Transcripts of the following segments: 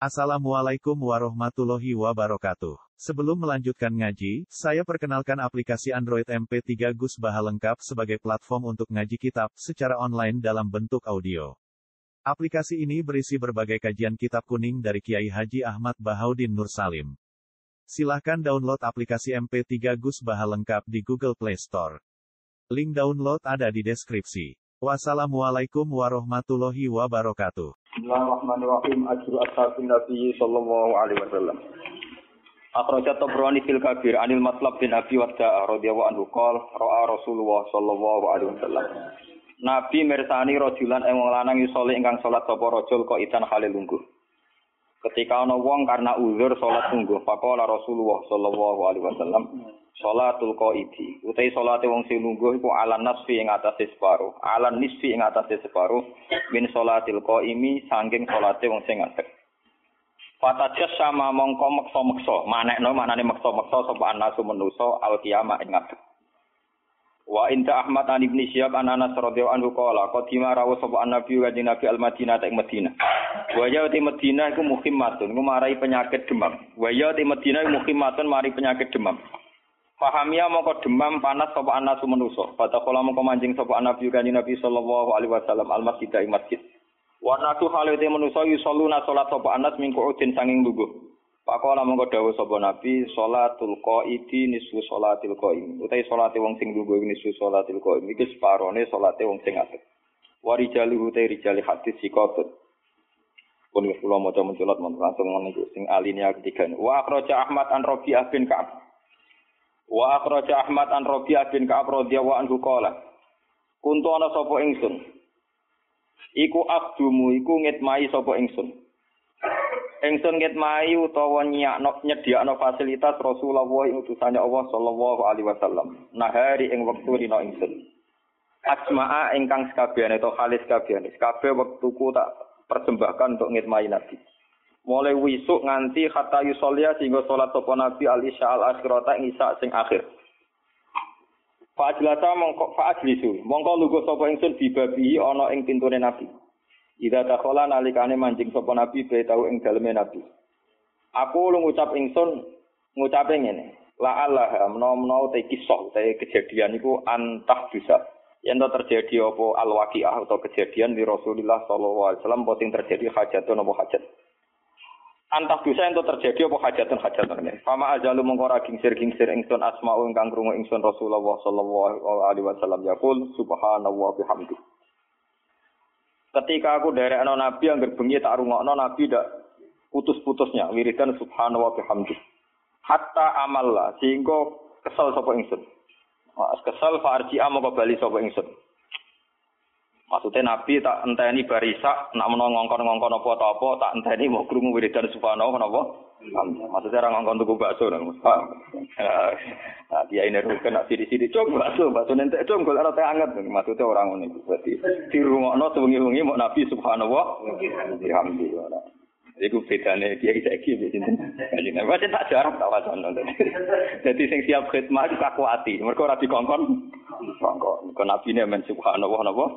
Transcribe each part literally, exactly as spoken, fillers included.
Assalamualaikum warahmatullahi wabarakatuh. Sebelum melanjutkan ngaji, saya perkenalkan aplikasi Android M P tiga Gus Baha lengkap sebagai platform untuk ngaji kitab secara online dalam bentuk audio. Aplikasi ini berisi berbagai kajian kitab kuning dari Kiai Haji Ahmad Bahaudin Nur Salim. Silahkan download aplikasi M P tiga Gus Baha lengkap di Google Play Store. Link download ada di deskripsi. Wassalamualaikum warahmatullahi wabarakatuh. Bismillahirrahmanirrahim. Ajru ashabin Nabi sallallahu alaihi wasallam. Akhrajat Tabrani fil Kabir anil Matlab bin Abi Wadda'a radhiyallahu anhu qala ra'a Rasulullah sallallahu alaihi wasallam. Nabi mirsani rajulan ing wong lanang yusoli ingkang salat sapa rajul kok idan hale lungguh. Ketika ana wong karena uzur salat lungguh, faqala Rasulullah sallallahu alaihi wasallam, salatul qaidi. Utai salate wong sing lungguh iku alan nasfi ing atase separo, alan nisfi ing atase separo min salatil qaimi saking salate wong sing ngadeg. Fatajas sama mongko meksa-meksa, manekno maknane meksa-meksa sapa anasu manusa al qiyamah ing ngadeg. Wa inta Ahmad an Ibnu Syihab an Anas radhiyallahu anhu qala qadima rawu sapa nabi wa Nabi al-Madinah ing Madinah. Wa ya ti Madinah iku muhimmatun, iku marai penyakit demam. Wa ya ti Madinah iku muhimmatun mari penyakit demam. Fahamia mongko demam panas sapa anasu manusa. Fatakola mongko manjing sapa nabi wa Nabi sallallahu alaihi wasallam al-masjid ing masjid. Wa natu halate manusa yusalluna salat sapa anas mingku udin sanging lungguh. Pakola mongko dawuh sapa nabi salatul qaidi nisfu salatil qaim. Utai salate wong sing lungguh nisfu salatil qaim iki separone salate wong sing ngadeg. Wa rijali utai rijali hadis sikotut. Pun kula maca mencolot langsung niku sing alinea ketiga. Wa akhraja Ahmad an Rabi'ah bin Ka'ab. Wa akhraja Ahmad an Rabi'ah bin Ka'ab radhiyallahu anhu qala kuntu ana sapa ingsun iku abdumu iku ngitmai sapa ingsun ingsun ngitmai utawa nyakno nyediakno fasilitas Rasulullah utusane Allah sallallahu alaihi wasallam nahari ing wektu rina ingsun asma'a ingkang sakabehane to khalis kabehane kabeh wektuku tak persembahkan untuk ngitmai Nabi. Mulai wisuk nganti kata yusolia sehingga sholat sopo Nabi al-isya al-akhirata ing isya sing akhir. Fa'ajlasa mongko fa'ajlisu. Mongko lugu sopo ingsun dibabihi ana ing pintune Nabi. Ida dakhala nalikane manjing sopo Nabi bae tau ing daleme Nabi. Aku lu ngucap ingsun ngucape ngene. La Allah menawa-menawa te kisah te kejadian iku antah bisa. Yen to terjadi apa al-waqiah atau kejadian di Rasulullah sallallahu alaihi wasallam boting terjadi hajatun apa hajat. Antah dosa ento terjadi apa hajatan-hajatan ini. Fama ajalu mongko ra gingsir-gingsir ingsun asma'u ingkang krungu ingsun Rasulullah sallallahu alaihi wasallam yaqul subhanallah bihamdi. Ketika aku derekno Nabi angger bengi tak rungokno Nabi ndak putus-putusnya wiridan subhanallah bihamdi. Hatta amalla sehingga kesel sapa ingsun. Kesel farji mongko bali sapa ingsun. Maksudnya Nabi tak enteni barisak, nak menawa ngongkon-ngongkon apa-apa, tak enteni mau krungu wiridan subhanallah napa? Maksudnya ora ngongkon tuku bakso nang Mas. Nah, dia ini rukun nak sidi-sidi cok bakso, bakso nentek cok golek roti anget. Maksudnya orang ngono iku. Berarti dirungokno sewengi-wengi mau Nabi subhanallah. Alhamdulillah. Iku bedane dia saiki wis sinten. Kanjeng Nabi tak jarak tak wacono. Dadi sing siap khidmah iku kakuati. Mergo ora dikongkon. Kongkon. Kok Nabi ne men subhanallah napa?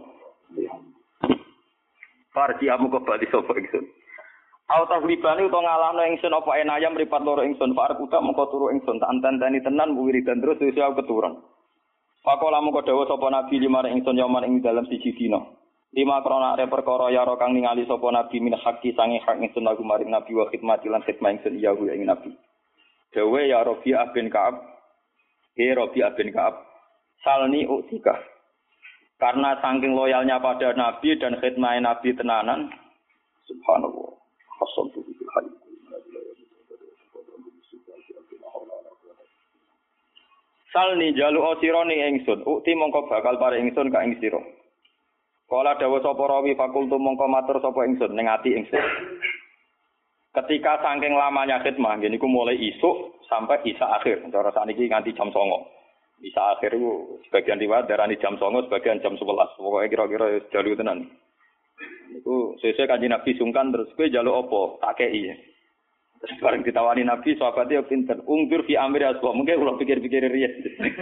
Farji amu kembali sapa ingsun. Au tahlibane utawa ngalahno ingsun apa enayam mripat loro ingsun farek utak mengko turu ingsun tak anteni tenan wiridan terus wis aku keturun. Pakola mengko dawuh sapa nabi limare ingsun yoman ing dalam siji dina. Lima krana are perkara yaro kang ningali sapa nabi min haqqi sange hak ingsun lagu maring nabi wa khidmati lan khidmah ingsun iya ku ing nabi. Dawe ya Rabi'ah bin Ka'ab. He Rabi'ah bin Ka'ab. Salni utika. Karena saking loyalnya pada Nabi dan khidmah Nabi tenanan, subhanallah, hasantu bil hayy. Salni jalu osironi ingsun, ukti mongko bakal pare ingsun ka ing sira. Kala dawuh sapa rawi fakultu mongko matur sapa ingsun ning ati ingsun. Ketika saking lamanya khidmah, ngene iku mulai isuk sampai isya akhir, cara sakniki nganti jam songo. Bisa akhir itu sebagian riwayat darani jam songo, sebagian jam sebelas. Pokoknya kira-kira jalu tenan. Itu sesuai kanjeng Nabi sungkan terus kowe njaluk apa? Tak kei. Terus bareng ditawani Nabi, sahabatnya pinter. Ungdur fi amri aswa. Mungkin kalau pikir-pikir riyen.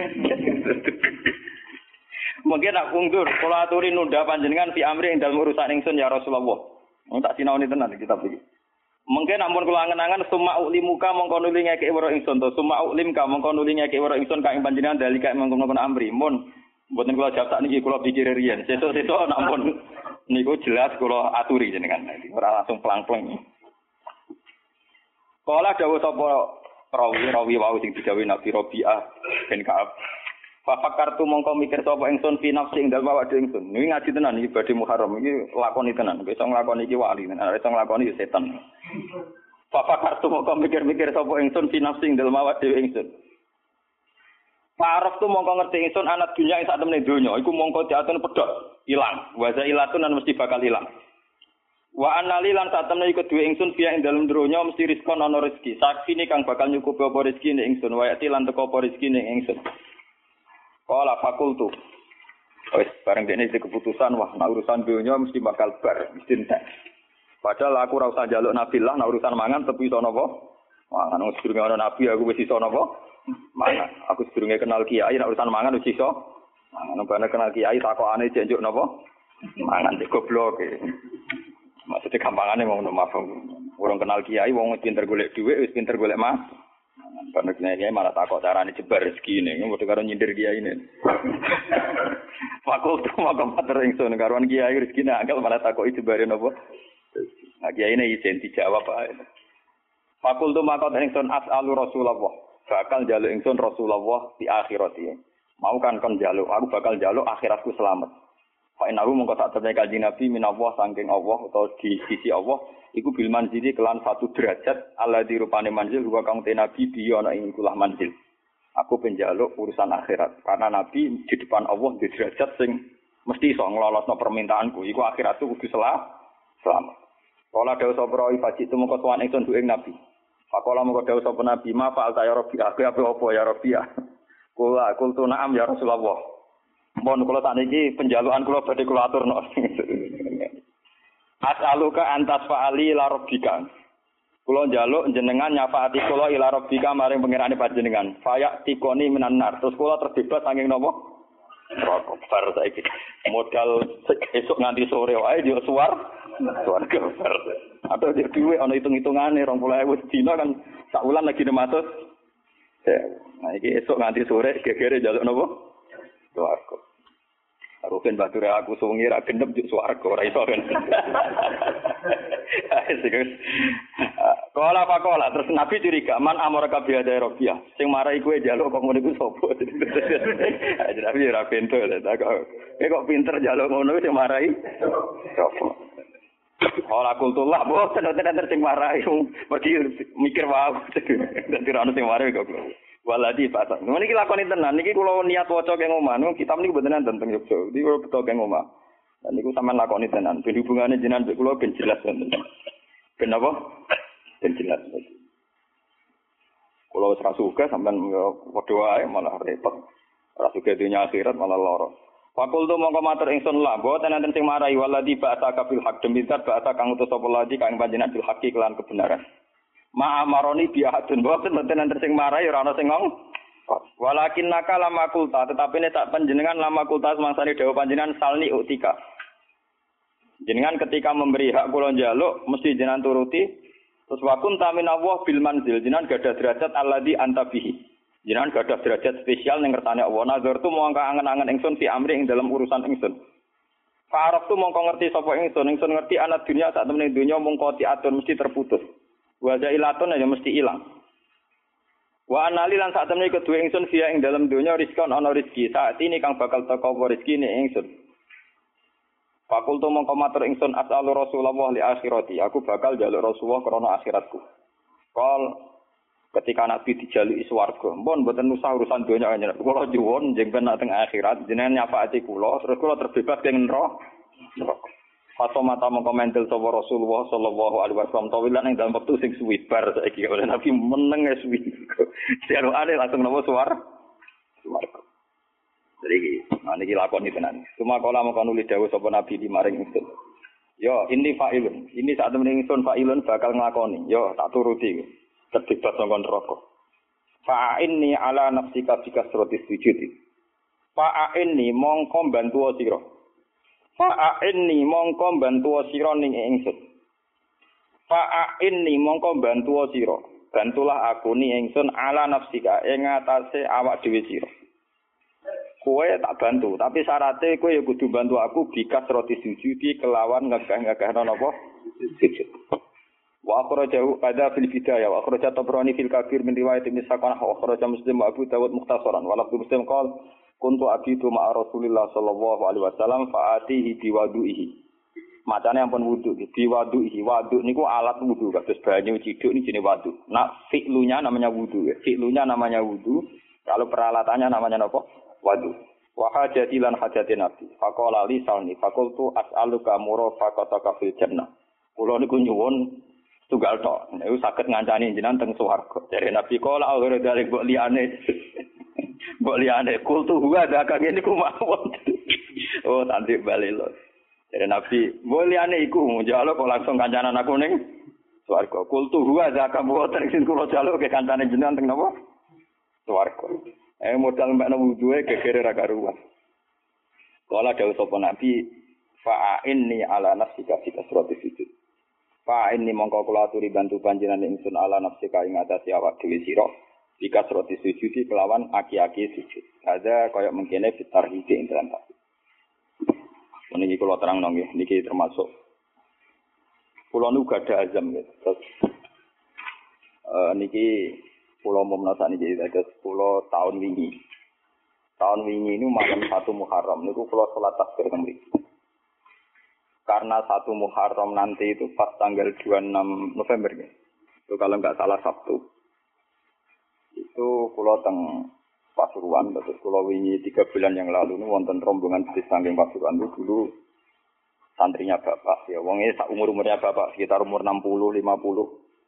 Mungkin nak ungdur, kalau aturi nunda panjenengan fi amri ing dalem urusan ingsun ya Rasulullah. Wong tak sinaoni tenan kitab iki. Mungkin ampun kula angen-angen summa ulimuka mongko nuli ngeke weruh ingsun to summa ulimka mongko nuli ngeke weruh ingsun ka ing panjenengan dalika mengkono-kono amri mun mboten kula jawab sak niki kula pikir riyen sesuk-sesuk ampun niku jelas kula aturi jenengan ora langsung plang-plang. Kala dawuh sapa rawi-rawi wau sing didhawuhi Nabi Rabi'ah bin Ka'ab. Fafakartu mongko mikir sapa ingsun fi nafsi ing dalem awake ingsun. Niki ngaji tenan iki badhe Muharram iki lakoni tenan. Iso nglakoni iki wali tenan, iso nglakoni ya setan. Fafakartu mongko mikir-mikir sapa ingsun fi nafsi ing dalem awake ingsun. Paraf tu mongko ngerti ingsun anak dunya ing sak temene donya iku mongko diatur pedhot, ilang. Wa zailatun lan mesti bakal ilang. Wa annali lan sak temene iku duwe ingsun biya ing dalem donya mesti rizkon ana rezeki. Sakine kang bakal nyukupi apa rezekine ingsun, wa yati lan teko apa rezekine ingsun. Kala fakultu. Wis bareng dene iki keputusan wah nek urusan donya mesti bakal bar, mesti entek. Padahal aku ora usah njaluk nabilah nek urusan mangan tepi iso napa? Mangan wis durung ana nabi aku wis iso napa? Mangan. Aku sedurunge kenal kiai nek urusan mangan wis iso. Mangan ben kenal kiai takokane jek njuk napa? Mangan cek goblok. Maksudnya gampangane mau maaf. Urung kenal kiai wong pinter golek dhuwit wis pinter golek mas. Karena kiai malah takut carane jebar rezeki ini, mau karo nyindir kiai ini. Fakultu maka matur ingsun karuan kiai rezeki angel malah takoki jebare napa. Nah kiai ini izin dijawab ae. Fakultu maka ingsun as'alu Rasulullah. Bakal njaluk ingsun Rasulullah di akhirat iki. Mau kan kon njaluk, aku bakal njaluk akhiratku selamat. Fa inahu mongko sak temene kanjeng Nabi minallah saking Allah utawa di sisi Allah iku bil manzili kelan satu derajat alladzi rupane manzil wa kang te nabi biya ana ing kulah manzil. Aku penjaluk urusan akhirat karena nabi di depan Allah di derajat sing mesti iso nglolosno permintaanku iku akhiratku kudu selamat. Kala dawuh sapa ifaji tu mongko tuan ingsun duwe nabi. Pakola mongko dawuh sapa nabi ma fa'al ta ya rabbi aku apa apa ya rabbi. Kula kultu na'am ya Rasulullah. Mohon kula sakniki penjalukan kula badhe kula aturno. As'aluka antas fa'ali ila rabbika. Kula njaluk jenengan nyafaati kula ila rabbika maring pangerane panjenengan. Fayak tikoni minan nar. Terus kula terbebas saking napa? Neraka bar saiki. Modal esuk nganti sore wae yo suwar. Swarga bar. Atau dia duwe ana hitung-hitungane dua puluh ribu dina kan sak wulan lagi nematus. Nah iki esuk nganti sore gegere njaluk napa? Swarga. Rugen batur aku sungi ra gendep juk swarga ora iso kan. Kala pakola terus Nabi curiga man amara ka biada Rabiah sing marai kowe njaluk kok ngono iku sapa. Jadi Nabi ora pinter ta kok. Kok pinter njaluk ngono sing marai sapa. Ora kultullah boten tenan sing marai pergi mikir wae. Dadi ra ono sing marai kok. Waladi pasang. Niki lakoni tenan. Niki kula niat waca keng omah. Kitab niku mboten enten teng Yogyakarta. Niki kula beto keng omah. Dan niku sampean lakoni tenan. Ben hubungane jenengan mbek kula ben jelas tenan. Ben apa? Ben jelas. Kula wis ra suka sampean padha wae malah repot. Ra suka dunya akhirat malah lara. Fakul tu mongko matur ingsun la boten enten sing marai waladi ba'sa kabil haq demi zat ba'sa kang utus sapa ladi kang panjenengan bil haqi kelan kebenaran. Ma amaroni bi'adun boten mboten enten sing marai ora ana sing ngong. Walakin naka lama kulta tetapi nek tak panjenengan lama kulta semangsane dawuh panjenengan salni utika. Jenengan ketika memberi hak kula njaluk mesti jenengan turuti. Terus wakun tamin Allah bil manzil jenengan gadah derajat alladzi anta bihi. Jenengan gadah derajat spesial ning kersane Allah. Nazar tu mongko angen-angen ingsun fi amri ing dalam urusan ingsun. Faraf tu mongko ngerti sapa ingsun, ingsun ngerti anak dunia sak temene dunya mongko diatur mesti terputus. Wa jailatun ya mesti ilang. Wa anali lan sak temene kedue ingsun via ing dalam dunya rizkon ana rezeki. Saat ini kang bakal teko apa rezekine ingsun. Fakultu mongko matur ingsun as'alu Rasulullah li akhirati. Aku bakal njaluk Rasulullah krana akhiratku. Kal ketika Nabi dijaluki swarga, mpun mboten usah urusan donya kanjeng. Kula nyuwun jenengan nak teng akhirat jenengan nyafaati kula, terus kula terbebas ing neraka. Fato mata mengkomentil sapa Rasulullah sallallahu alaihi wasallam tawilan ing dalam wektu sing suwi bar saiki oleh Nabi meneng es suwi. Dialukane langsung napa suwar. Swarga. Jadi iki, niki lakoni tenan. Cuma kala mengko nulis dawuh sapa Nabi di maring ingsun. Yo, ini fa'ilun. Ini saat temen ingsun fa'ilun bakal nglakoni. Yo, tak turuti. Terbebas saka neraka. Fa'inni ala nafsika bikasratis sujud. Fa'inni mongko bantu sira. Fa'inni mongko bantu sira ning ingsun. Fa'in ni mongko bantu sira. Bantulah aku ni ingsun ala nafsika ing atase awak dhewe sira. Kowe tak bantu, tapi syaratnya kowe ya kudu bantu aku bikas roti sujudi kelawan ngegah-ngegahno napa? Sujud. Wa akhrajahu qadza fil bidayah wa akhraja Tabrani fil Kabir min riwayat Ibnu Sa'ad wa akhraja Muslim wa Abu Dawud mukhtasaran wa lafdhu Muslim qala kuntu abidu ma'a Rasulillah sallallahu alaihi wasallam fa'atihi biwadu'ihi. Macane ampun wudu, biwadu'ihi. Wadu niku alat wudu, kados banyu ciduk ini jenenge wadu. Nah, fi'lunya namanya wudu ya. Fi'lunya namanya wudu, kalau peralatannya namanya napa? Wadu. Wa hajati lan hajati nabi. Faqala li salni faqultu as'aluka murafaqataka fil jannah. Kula niku nyuwun tunggal tok. Niku saged ngancani jenengan teng swarga. Jare Nabi kala akhire dalek mbok liyane. Mbok liyane kultu huwa dak ngene ku mawon. Oh, nanti bali lho. Jare Nabi, mbok liyane iku njalo kok langsung kancanan aku ning swarga. Kultu huwa dak mboten sing kula jaluk ke kancane jenengan teng napa? Swarga. Eh modal mbakna wuduhe gegere ra karuan. Kala dawuh sapa Nabi, fa'inni ala nafsika fi kasrati sujud. Fa'inni mongko kula aturi bantu panjenengan ingsun ala nafsika ing atase awak dhewe sira. Fi kasrati sujud kelawan aki-aki sujud. Ada kaya mengkene fitarhike ing dalam tak. Niki kula terangno nggih, niki termasuk kula nu gadah azam nggih. Terus eh niki kula momno sakniki dados kula tahun wingi. Tahun wingi ini malam satu Muharram niku kula salat takbir teng mriki. Karena satu Muharram nanti itu pas tanggal dua puluh enam November ya. Itu kalau enggak salah Sabtu. Itu kula teng Pasuruan, terus kula wingi tiga bulan yang lalu ini wonten rombongan di samping Pasuruan itu dulu santrinya bapak. Ya wonge sak umur-umurnya bapak sekitar umur enam puluh lima puluh.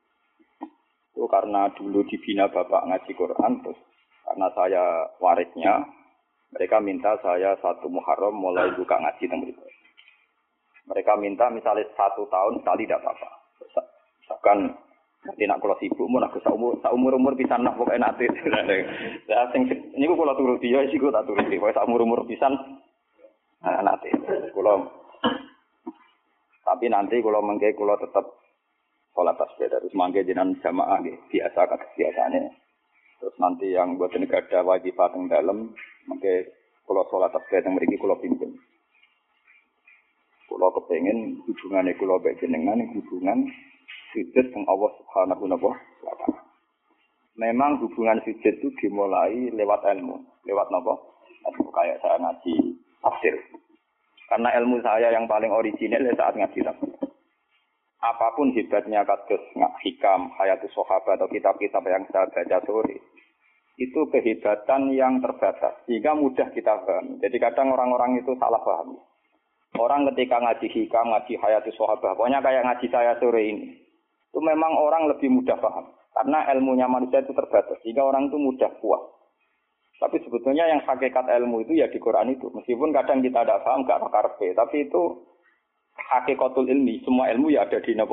Itu karena dulu dibina bapak ngaji Quran, terus karena saya warisnya, mereka minta saya satu Muharram mulai buka ngaji teng mriku. Mereka minta misalnya satu tahun sekali tidak apa-apa. Misalkan nanti nak kalau sibuk, mau nak sak umur, sak umur umur pisan nak pokoknya nanti. Lah sing niku kula turuti ya sik tak turuti. Pokoke sak umur umur pisan nah, nanti. Kula tapi nanti kalau mengke kula tetap sholat tasbih terus mangke jenengan jamaah nggih biasa kados biasane. Terus nanti yang buat negara wajib teng dalem mengke kula sholat tasbih teng mriki kula pimpin. Kula kepengin hubungane kula mbek jenengan hubungan sujud teng Allah Subhanahu wa taala. Memang hubungan sujud itu dimulai lewat ilmu, lewat napa? Kayak saya ngaji tafsir. Karena ilmu saya yang paling original saat ngaji tafsir. Apapun hebatnya kados hikam, hayatus sahabat atau kitab-kitab yang saya baca sore, itu kehebatan yang terbatas, sehingga mudah kita paham. Jadi kadang orang-orang itu salah paham. Orang ketika ngaji hikam, ngaji hayatus sahabat, pokoknya kayak ngaji saya sore ini, itu memang orang lebih mudah paham. Karena ilmunya manusia itu terbatas, sehingga orang itu mudah puas. Tapi sebetulnya yang hakikat ilmu itu ya di Quran itu. Meskipun kadang kita tidak paham, tidak pakarpe, tapi itu hakikatul ilmi, semua ilmu ya ada di napa?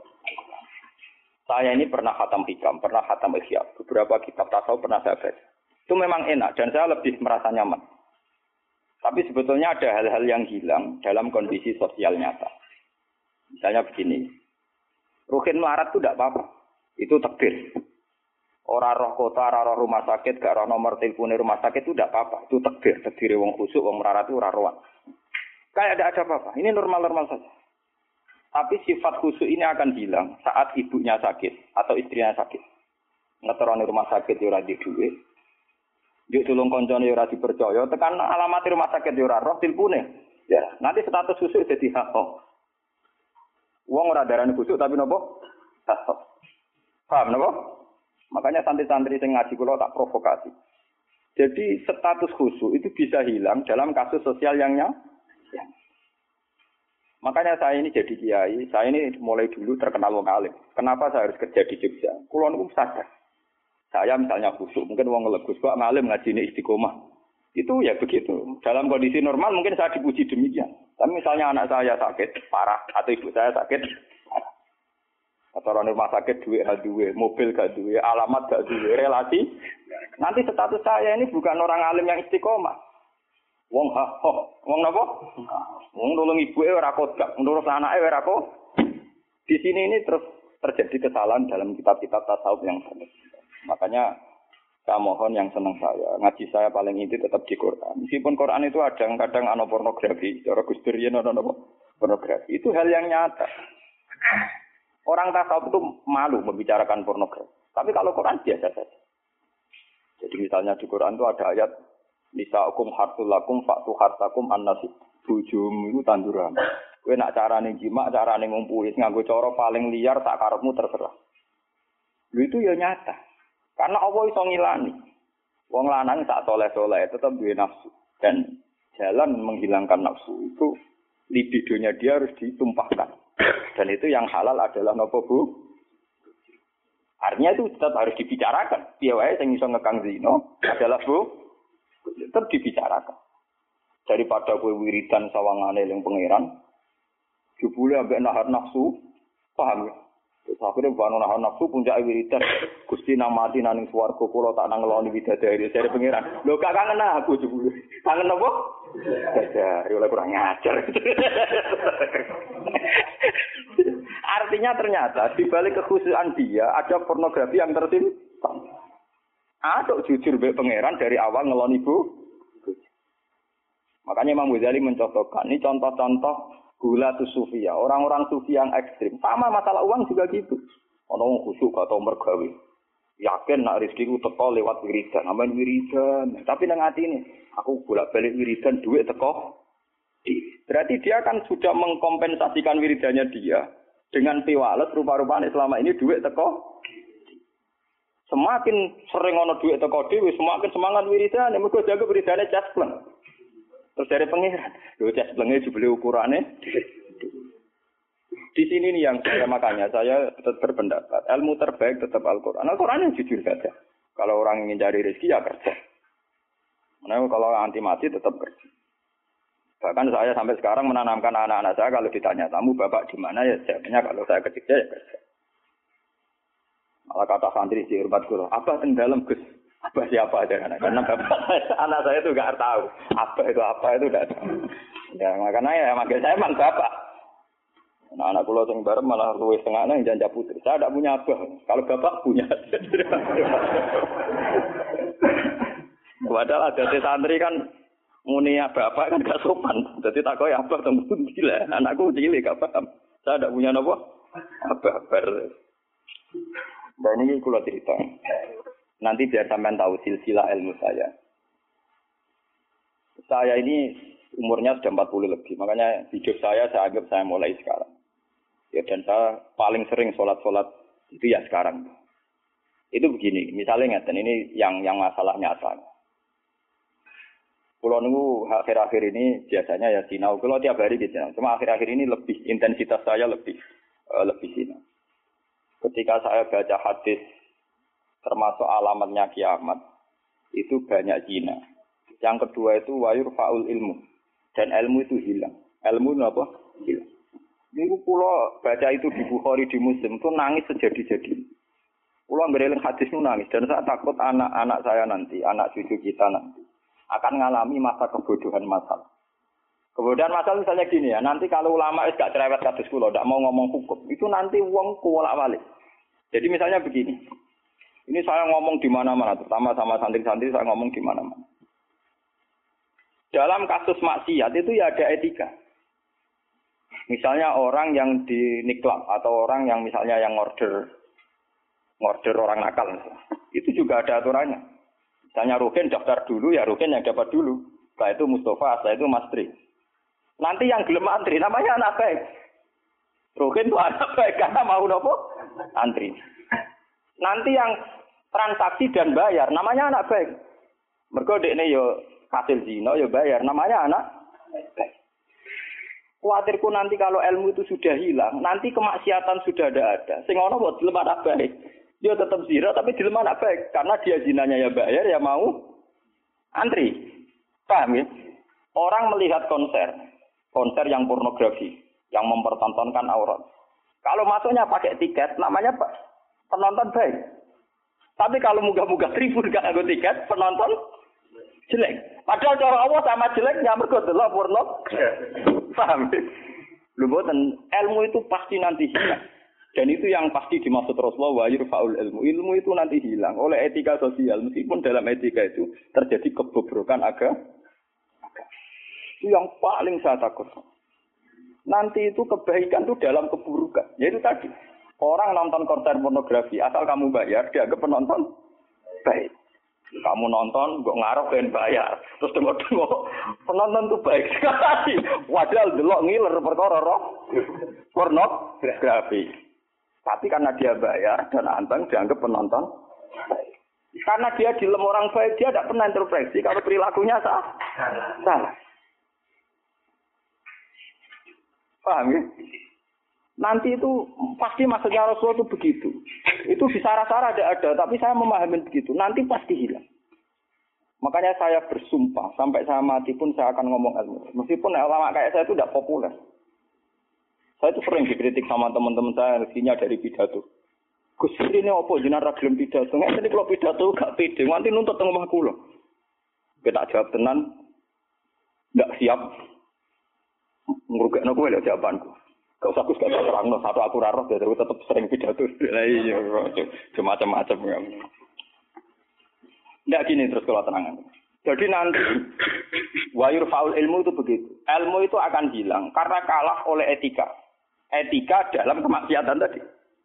Saya ini pernah khatam hikam, pernah khatam ihya, beberapa kitab tasawuf pernah saya baca. Itu memang enak dan saya lebih merasa nyaman. Tapi sebetulnya ada hal-hal yang hilang dalam kondisi sosial nyata. Misalnya begini, rukin melarat itu tidak apa-apa, itu takdir. Orang roh kota, orang roh rumah sakit, gak roh nomor telepon rumah sakit itu tidak apa-apa, itu takdir. Takdir wong khusuk, wong melarat itu orang rohan. Kayak tidak ada apa-apa, ini normal-normal saja. Tapi sifat khusyuk ini akan hilang saat ibunya sakit atau istrinya sakit. Ngeteroni rumah sakit ya ora di duwe. Yuk tulung koncone ya ora dipercaya, tekan alamat rumah sakit ya ora roh tilpune. Ya, nanti status khusyuk dadi hak. Wong ora darani khusyuk tapi napa? Hak. Paham napa? Makanya santri-santri sing ngaji kula tak provokasi. Jadi status khusyuk itu bisa hilang dalam kasus sosial yang nyata. Ya. Makanya saya ini jadi kiai, saya ini mulai dulu terkenal wong alim. Kenapa saya harus kerja di Jogja? Kulo niku sadar. Saya misalnya khusyuk, mungkin wong ngelegus kok ngalim ngajine istiqomah. Itu ya begitu. Dalam kondisi normal mungkin saya dipuji demikian. Tapi misalnya anak saya sakit parah atau ibu saya sakit parah. Atau orang rumah sakit duit gak duit, mobil gak duit, alamat gak duit, relasi. Nanti status saya ini bukan orang alim yang istiqomah. Wong ha ho, wong napa? Wong nulung ibuke ora kodak, nurut anake ora kok. Di sini ini terus terjadi kesalahan dalam kitab-kitab tasawuf yang benar. Makanya saya mohon yang senang saya, ngaji saya paling inti tetap di Quran. Meskipun Quran itu kadang-kadang ana pornografi, cara Gus Dur yen ana pornografi. Itu hal yang nyata. Orang tasawuf itu malu membicarakan pornografi. Tapi kalau Quran biasa saja. Jadi misalnya di Quran itu ada ayat nisa'ukum harsul lakum fa'tu harsakum an-nasib. Bujum itu tanduran. Kowe nak carane jima, carane ngumpuli nganggo cara paling liar tak karepmu terserah. Lho itu ya nyata. Karena Allah iso ngilani. Wong lanang sak soleh-soleh tetap duwe nafsu dan jalan menghilangkan nafsu itu libidonya dia harus ditumpahkan. Dan itu yang halal adalah napa Bu? Artinya itu tetap harus dibicarakan. Piye wae sing iso ngekang zina adalah Bu tetap dibicarakan. Daripada kowe wiridan sawangane ning pangeran, jebule ambek nahan nafsu, paham ya? Terus akhirnya banu nahan nafsu puncak wiridan. Gusti nang mati nang swarga kula tak nang ngeloni bidadari dari pangeran. Lho gak kangen aku jebule. Kangen apa? Bidadari oleh kurang ngajar. Artinya ternyata di balik kekhususan dia ada pornografi yang tersimpan. Aduk jujur mbek pangeran dari awal ngeloni Bu. Makanya Imam Ghazali mencontohkan ini contoh-contoh gula tu sufia, orang-orang sufi yang ekstrim. Sama masalah uang juga gitu. Ono khusyuk atau mergawe. Yakin nak rezeki ku teko lewat wiridan, amen wiridan. Tapi nang atine, aku bolak-balik wiridan duit teko. Berarti dia kan sudah mengkompensasikan wiridannya dia dengan piwales rupa-rupanya selama ini duit teko. Semakin sering ono duit teko dhewe, semakin semangat wiridan, mergo jaga wiridane caspleng. Terus dari pengiran, lho casplenge jebule ukurane. Di sini nih yang saya makanya saya tetap berpendapat ilmu terbaik tetap Al-Qur'an. Al-Qur'an yang jujur saja. Kalau orang ingin cari rezeki ya kerja. Nah, kalau anti mati tetap kerja. Bahkan saya sampai sekarang menanamkan anak-anak saya kalau ditanya tamu bapak di mana ya jawabnya kalau saya kerja ya kerja. Malah kata santri di hormat guru, apa yang dalam Gus? Apa siapa aja anak karena bapak anak saya itu nggak tahu apa itu apa itu nggak tahu. Ya makanya ya manggil saya emang bapak. Nah, anak pulau yang bareng malah luwes tengahnya yang janja putri. Saya tidak punya abah. Kalau bapak punya. Padahal ada santri kan muni bapak kan gak sopan. Jadi tak kau abah temu gila. Anakku cilik gak paham. Saya tidak punya apa abah ber. Dan ini kulo cerita. Nanti biar sampean tahu silsilah ilmu saya. Saya ini umurnya sudah empat puluh lebih. Makanya hidup saya saya anggap saya mulai sekarang. Ya dan saya paling sering sholat-sholat itu ya sekarang. Itu begini, misalnya ngeten ini yang yang masalah nyata. Kulo nunggu akhir-akhir ini biasanya ya sinau. Kulo tiap hari gitu. Cuma akhir-akhir ini lebih intensitas saya lebih uh, lebih sinau. Ketika saya baca hadis termasuk alamatnya kiamat, itu banyak zina. Yang kedua itu wayur faul ilmu. Dan ilmu itu hilang. Ilmu itu apa? Hilang. Ini pulau baca itu di Bukhari, di Muslim, itu nangis sejadi-jadi. Pulau ngereling hadis itu nangis. Dan saya takut anak-anak saya nanti, anak cucu kita nanti, akan mengalami masa kebodohan masal. Kebodohan masal misalnya gini ya, nanti kalau ulama itu gak cerewet hadis pulau, gak mau ngomong hukum, itu nanti uang kuwalak-walik. Jadi misalnya begini, ini saya ngomong di mana-mana, terutama sama santri-santri saya ngomong di mana-mana. Dalam kasus maksiat itu ya ada etika. Misalnya orang yang di niklab atau orang yang misalnya yang order order orang nakal, itu juga ada aturannya. Misalnya Rukin daftar dulu, ya Rukin yang dapat dulu. Setelah itu Mustafa, setelah itu Mas Tri. Nanti yang gelem antri namanya anak baik. Rukin itu anak baik karena mau nopo antri. Nanti yang transaksi dan bayar namanya anak baik. Mergo dekne yo hasil zina yo bayar namanya anak baik. Kuatirku nanti kalau ilmu itu sudah hilang, nanti kemaksiatan sudah ada ada. Sing ono buat dilem anak baik. Dia tetap zina tapi dilem anak baik karena dia zinanya ya bayar ya mau antri. Paham ya? Orang melihat konser, konser yang pornografi, yang mempertontonkan aurat. Kalau masuknya pakai tiket namanya penonton baik. Tapi kalau munggah-munggah tribun gak nganggo tiket, penonton jelek. Padahal cara Allah sama jeleknya mergo delok porno. Paham? Lho mboten, ilmu itu pasti nanti hilang. Dan itu yang pasti dimaksud Rasulullah wa yurfa'ul ilmu. Ilmu itu nanti hilang oleh etika sosial. Meskipun dalam etika itu terjadi kebobrokan agama. Itu yang paling saya takut. Nanti itu kebaikan itu dalam keburukan. Yaitu tadi. Orang nonton konser pornografi. Asal kamu bayar, dianggap penonton baik. Kamu nonton, kok ngaruh dan bayar. Terus tengok-tengok, penonton itu baik sekali. Padahal delok ngiler perkara roh. Pornografi. Tapi karena dia bayar dan anteng dianggap penonton baik. Karena dia dilem orang baik, dia tidak pernah intervensi kalau perilakunya salah. Salah. Paham ya? Nanti itu pasti maksudnya Rasulullah itu begitu. Itu di sarah-sarah ada ada, tapi saya memahami begitu. Nanti pasti hilang. Makanya saya bersumpah sampai saya mati pun saya akan ngomong ilmu. Meskipun ulama kayak saya itu tidak populer. Saya itu sering dikritik sama teman-teman saya rezekinya dari pidato. Gus ini apa jenengan ra gelem pidato? Nek iki kalau pidato gak pede, nganti nuntut teng omah kula. Kita jawab tenan ndak siap. Ngrugekno kowe lho jawabanku. Gak usah Gus gak terangno, satu aku ra roh dadi tetep sering pidato. Lah iya macam-macam ya. Ndak gini terus kalau terangan. Jadi nanti wayur faul ilmu itu begitu. Ilmu itu akan hilang karena kalah oleh etika. Etika dalam kemaksiatan tadi.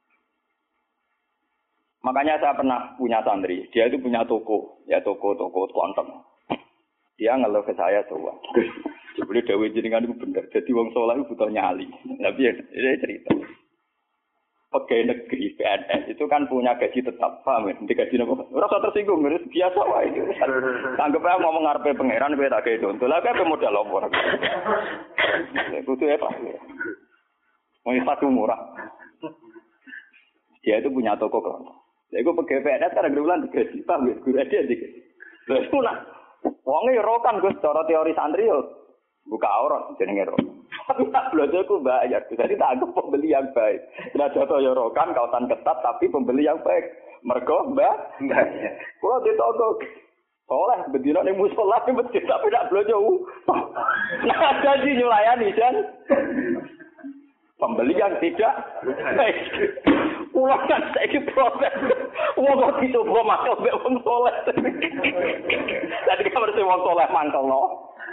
Makanya saya pernah punya santri, dia itu punya toko, ya toko-toko kontong. Dia ngeluh ke saya coba. Sebelum Dewi jenengan itu benar. Jadi wong soleh itu butuh nyali. Tapi ya, ini cerita. Pegawai negeri P N S itu kan punya gaji tetap, paham ya? Nanti gaji apa? Rasa tersinggung, harus biasa wah itu. Anggap aja ngomong ngarepe pangeran, gue tak kayak contoh. Lah kayak modal apa? Itu tuh apa? Mau satu murah. Dia itu punya toko kelontong. Jadi gue pegawai P N S kan ada bulan gaji, paham ya? Gue ada dikit. Terus pula, wongnya rokan gue secara teori santri yo, buka aurat jenenge rokan. Tapi tak belajar aku bayar. Jadi tak anggap pembeli yang baik. Tidak jatuh yorokan, kawasan ketat, tapi pembeli yang baik. Mergo mbak, mbak. Kalau di toko, soleh, bedino nih musola di masjid, tapi tak belajar. Nah ada sih nyulayani kan. Pembeli yang tidak baik. Pulang kan saya proses. Wong kok dicoba masuk mbek wong soleh. Tadi kan harus wong soleh mangkel no.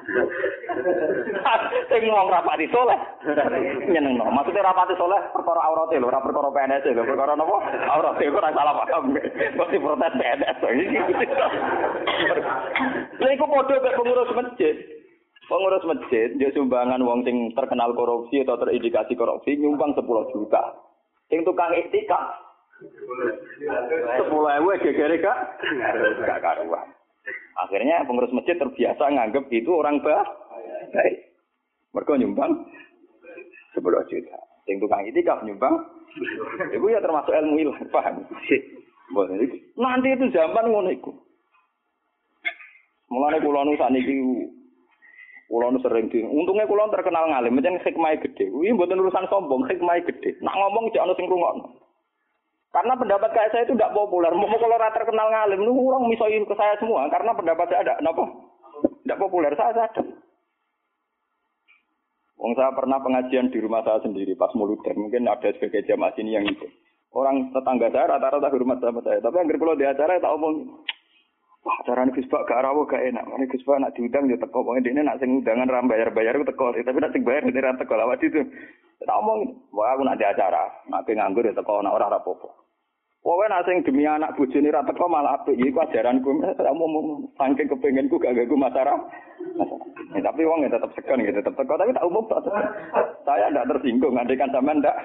Sing ngomong rapati soleh. Nyenengno. Maksudnya rapati soleh perkara aurate lho, ora perkara P N S lho, perkara napa? Aurate kok ora salah paham. Mesti protes P N S. Lha iku padha mek pengurus masjid. Pengurus masjid dia sumbangan wong sing terkenal korupsi atau terindikasi korupsi nyumbang sepuluh juta. Sing tukang iktikaf sepuluh ribu gegere Kak. Enggak karuan. Akhirnya pengurus masjid terbiasa nganggep itu orang baik. Mereka nyumbang sepuluh juta. Yang tukang itikaf nyumbang, itu ya termasuk ilmu ilah, paham? Nanti itu zaman ngono iku. Mulane kula nu sakniki kula nu sering di. Untungnya kula terkenal ngalim, pancen hikmahe gede. Kuwi mboten urusan sombong, hikmahe gede. Nak ngomong jek ana sing ngrungokno. Karena pendapat kayak saya itu tidak populer. Mau kalau rata terkenal ngalim, lu orang misoin ke saya semua. Karena pendapat saya ada, kenapa? Tidak populer, saya sadar. Wong saya pernah pengajian di rumah saya sendiri pas muludan. Mungkin ada sebagai jamaah sini yang itu. Orang tetangga saya rata-rata hormat sama saya. Tapi yang kalau di acara tak omong. Wah, acara ini Gus Pak gak rawo gak enak. Ini Gus Pak nak diundang dia teko. Pokoknya dia nak sing undangan ram bayar-bayar itu teko. Tapi nak sing bayar dia ra teko lawat itu. Tak omong. Wah, aku nak di acara. Nak nganggur ya teko nak ora rapopo. Pokoknya nak sing demi anak bojone ra teko malah apik. Iku ajaranku. Tak omong saking kepengenku gak ganggu masyarakat. Ya, tapi wong ya tetap segan gitu, tetap teko. Tapi tak umum tak. Saya ndak tersinggung. Andekan sampean ndak.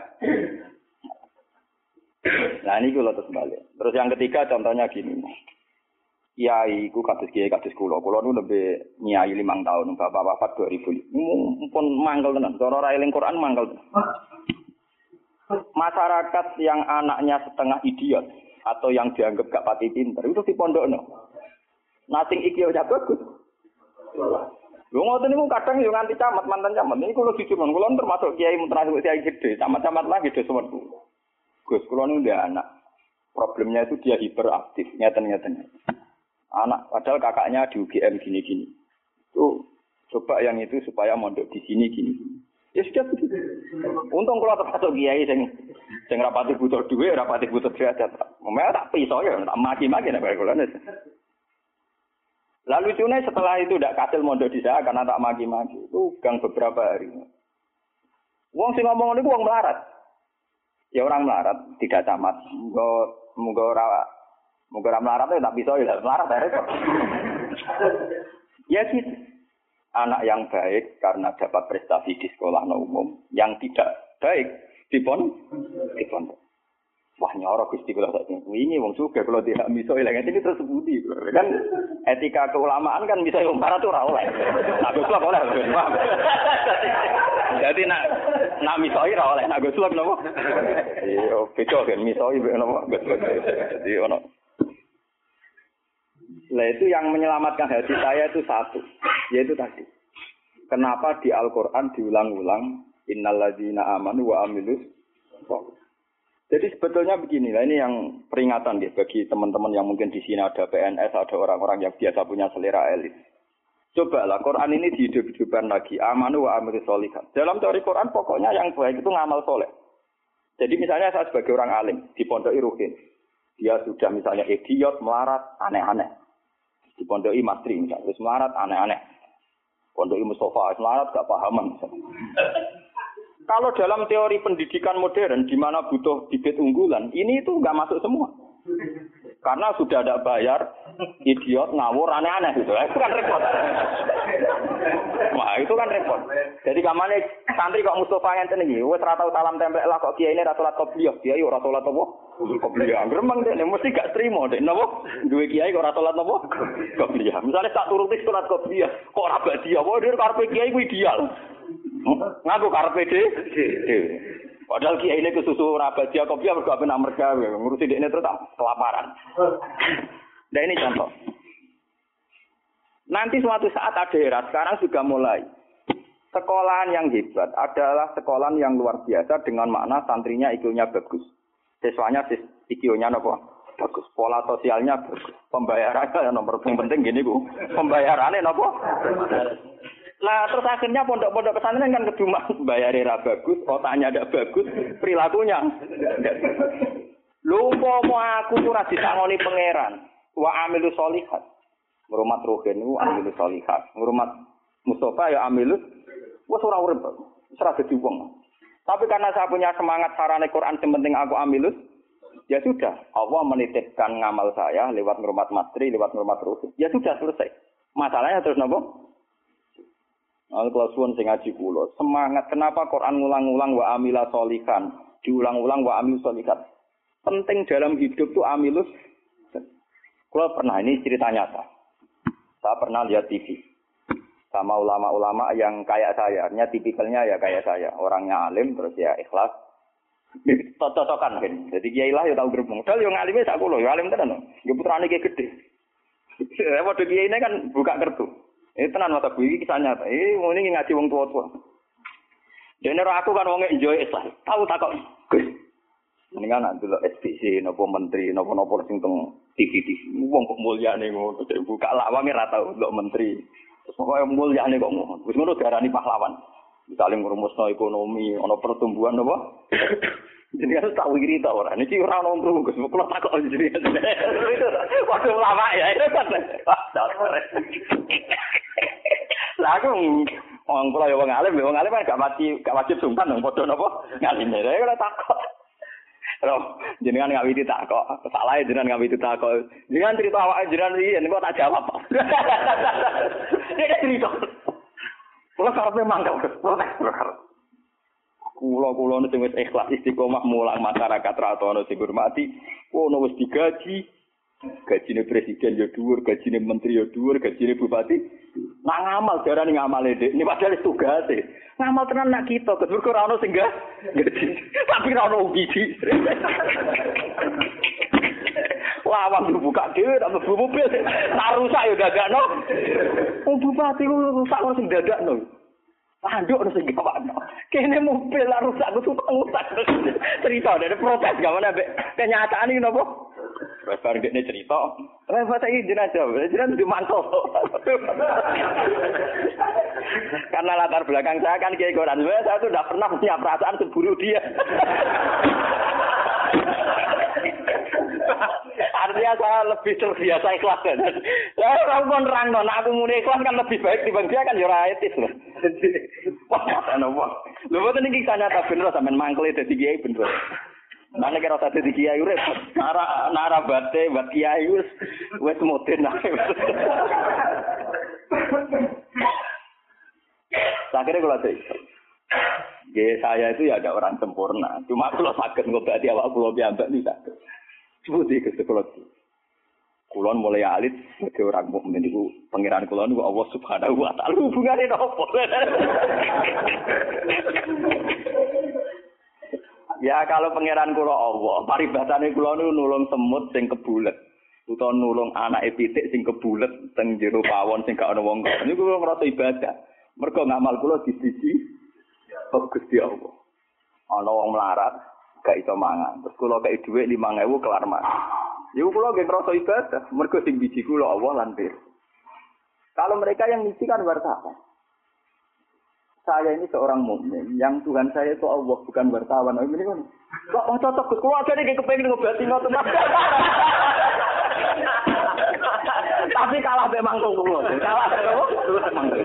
Nah ini kalau terus balik. Terus yang ketiga contohnya gini. Kiai ku kados kiai kados kula. Kula nu lebih nyai limang tahun, bapak wafat dua ribu. Mumpun mangkel tenan. Cara ora eling Quran mangkel. Masyarakat yang anaknya setengah idiot atau yang dianggap gak pati pinter itu di pondokno. Nasing iki yo bagus. Lho ngoten niku kadang yo nganti camat mantan camat. Ini kula jujur mon, kula termasuk kiai termasuk kiai gede, camat-camat lagi dhewe sewenku. Gus, kula nu ndek anak. Problemnya itu dia hiperaktif, nyeten-nyeten. Anak padahal kakaknya di U G M gini-gini. Tuh coba yang itu supaya mondok di sini gini. Ya sudah begitu. Untung kalau termasuk kiai sing Sing rapati butuh duit, rapati butuh derajat. Memang tak pisau ya, tak maki-maki nek kula. Lalu lucunya setelah itu tidak kasil mondok di saya karena tak maki-maki. Itu gang beberapa hari. Wong sing ngomong niku wong melarat. Ya orang melarat tidak camat. Muga muga ora muga ora melarat ya tak pisau ya melarat ya repot. Ya gitu. Anak yang baik karena dapat prestasi di sekolah umum, yang tidak baik di pon, di pondok. Wah nyorok Gusti kula sak ini wong sugih kalau tidak miso ilang ini terus budi. Kan etika keulamaan kan bisa wong barat ora oleh. Nak Gus oleh. Jadi nak nak miso ora oleh, nak Gus napa? Iya, beda kan miso napa? Jadi ono. Lah itu yang menyelamatkan hati saya itu satu, yaitu tadi. Kenapa di Al-Qur'an diulang-ulang innalladzina amanu wa amilus sholihat. Jadi sebetulnya begini, lah ini yang peringatan ya bagi teman-teman yang mungkin di sini ada P N S, ada orang-orang yang biasa punya selera elit. Cobalah Quran ini dihidup-hidupkan lagi, amanu wa amilus sholihat. Dalam teori Quran pokoknya yang baik itu ngamal soleh. Jadi misalnya saya sebagai orang alim di Pondok Ruhin, dia sudah misalnya idiot, melarat, aneh-aneh. Di Pondok Mastri misalnya, terus melarat, aneh-aneh. Pondok Mustafa, melarat, gak pahaman. Kalau dalam teori pendidikan modern, di mana butuh bibit unggulan, ini itu nggak masuk semua. Karena sudah ada bayar, idiot, ngawur, aneh-aneh gitu. Itu kan repot. Wah, itu kan repot. Jadi kamane santri kok Mustafa ngenten iki, wis ora tau salam tempel lah kok kiai ini ra salat qobliyah. Kiai ora salat apa? Qobliyah. Gremeng dene mesti gak trimo dek napa? Duwe kiai kok ora salat apa? Qobliyah. Misale tak turuti salat qobliyah, kok ora badiah. Wah, dhewe karepe kiai ku ideal. Ngaku karepe dhewe. Padahal kiai ini kesusu rabat dia kopi mergo ape nak merga ngurusi dekne terus tak kelaparan. Nah ini contoh. Nanti suatu saat ada era sekarang juga mulai. Sekolahan yang hebat adalah sekolahan yang luar biasa dengan makna santrinya I Q-nya bagus. Siswanya I Q-nya apa? Bagus. Pola sosialnya bagus. Pembayarannya nomor penting gini Bu. Pembayarannya apa? Lah terus akhirnya pondok-pondok pesantren kan kedua bayarnya ra bagus, otaknya ndak bagus, perilakunya. Lho umpama aku ora disangoni pangeran, wa amilus sholihat. Ngurmat rohen ku amilus sholihat. Ngurmat Mustafa ya amilus wis ora urip. Wis ora dadi wong. Tapi karena saya punya semangat sarane Quran yang penting aku amilus, ya sudah, Allah menitipkan ngamal saya lewat ngurmat mastri, lewat ngurmat rohen. Ya sudah selesai. Masalahnya terus napa? Al-Qur'an sing ngaji kula. Semangat kenapa Quran ngulang-ulang wa amila sholihan, diulang-ulang wa amil sholihat. Penting dalam hidup tuh amilus. Kula pernah ini cerita nyata. Saya pernah lihat T V sama ulama-ulama yang kayak saya, artinya tipikalnya ya kayak saya, orangnya alim terus ya ikhlas. Totokan kan. Jadi kiai lah ya tau gerbong. Padahal yo ngalime sak kula, yo alim tenan. Yo putrane ki gedhe. Eh padha kiai ini kan buka kertu. Eh tenan mata gue iki kisah nyata. Eh ngene ngaji wong tua-tua. Dene aku kan wong enjoy Islam. Tahu tak kok. Gus. Mendingan nak delok S B C napa menteri napa-napa sing teng T V T V. Wong kok mulyane ngono terus buka lawange ra tau delok menteri. Terus pokoke mulyane kok ngono. Wis ngono diarani pahlawan. Misale ngrumusno ekonomi, ana pertumbuhan apa? Jadi harus tahu iri ta ora. Niki ora ono ngru Gus. Kula takok jenenge. Waktu lama ya itu kan. Lah aku wong kula ya wong alim, wong alim kan gak mati, gak wajib sungkan nang padha napa ngaline. Lah kula takok. Lho, jenengan ngawiti takok. Salah jenengan ngawiti takok. Jenengan cerita awake jenengan iki engko tak jawab. Nek cerita. Kula karepe mangkel. Kula-kula sing wis ikhlas istiqomah mulang masyarakat ra ono sing hormati, ono wis digaji. Gajine presiden ya dhuwur, gajine menteri ya dhuwur, gajine bupati. Nak ngamal darane ngamale Dik. Ini padahal tugase. Ngamal tenan nak kita, kedur ora ono sing gaji. Tapi ora ono ugi. Lawang dibuka dhewe tak mlebu mobil. Tak rusak ya dadakno. Wong bupati ku rusak ora sing dadakno. Anduk ono sing gawakno. Kene mobil lah rusak ku rusak. Cerita dari protes gak mana mbek kenyataan iki napa? Wes bar dekne cerita. Wes saiki jenazah, jenazah di mantel. Karena latar belakang saya kan kiai Quran, saya tuh tidak pernah punya perasaan seburu dia. terbiasa lebih terbiasa ikhlas kan. Lah ora kon nerangno nek aku muni ikhlas kan lebih baik dibanding dia kan ya ora etis lho. Wah, ana wong. Lho boten iki sanyata bener sampean mangkle dadi kiai bener. Mana kira satu di kiai urip, nara nara bate buat kiai wis wis modern ae. Akhirnya kalau saya, ya saya itu ya ada orang sempurna. Cuma kalau sakit ngobati awak kulo piambak nih sakit. Seperti itu sekolah. Kulon mulai alit sebagai orang mukmin itu pangeran kulon itu Allah Subhanahu wa taala hubungannya apa? Ya kalau pangeran kula Allah, paribatane kula niku nulung semut sing kebulet, utawa nulung anake pitik sing kebulet teng jero pawon sing gak ana wong kok. Niku kula ngrasa ibadah. Mergo ngamal kula disiji Gusti Allah. Ana wong melarat gak iso mangan. Terus kula kei dhuwit lima ewu kelar mangan. Niku kula nggih ngrasa ibadah, mergo sing biji kula Allah lan pir. Kalau mereka yang ngisi kan wartawan. Saya ini seorang mukmin, yang Tuhan saya itu Allah, bukan wartawan. Oh, ini kan, kok oh, cocok Gus, keluarga ini kepengen ngobati ngoten. Tapi kalah be mangkung kulo. Kalah be mangkung.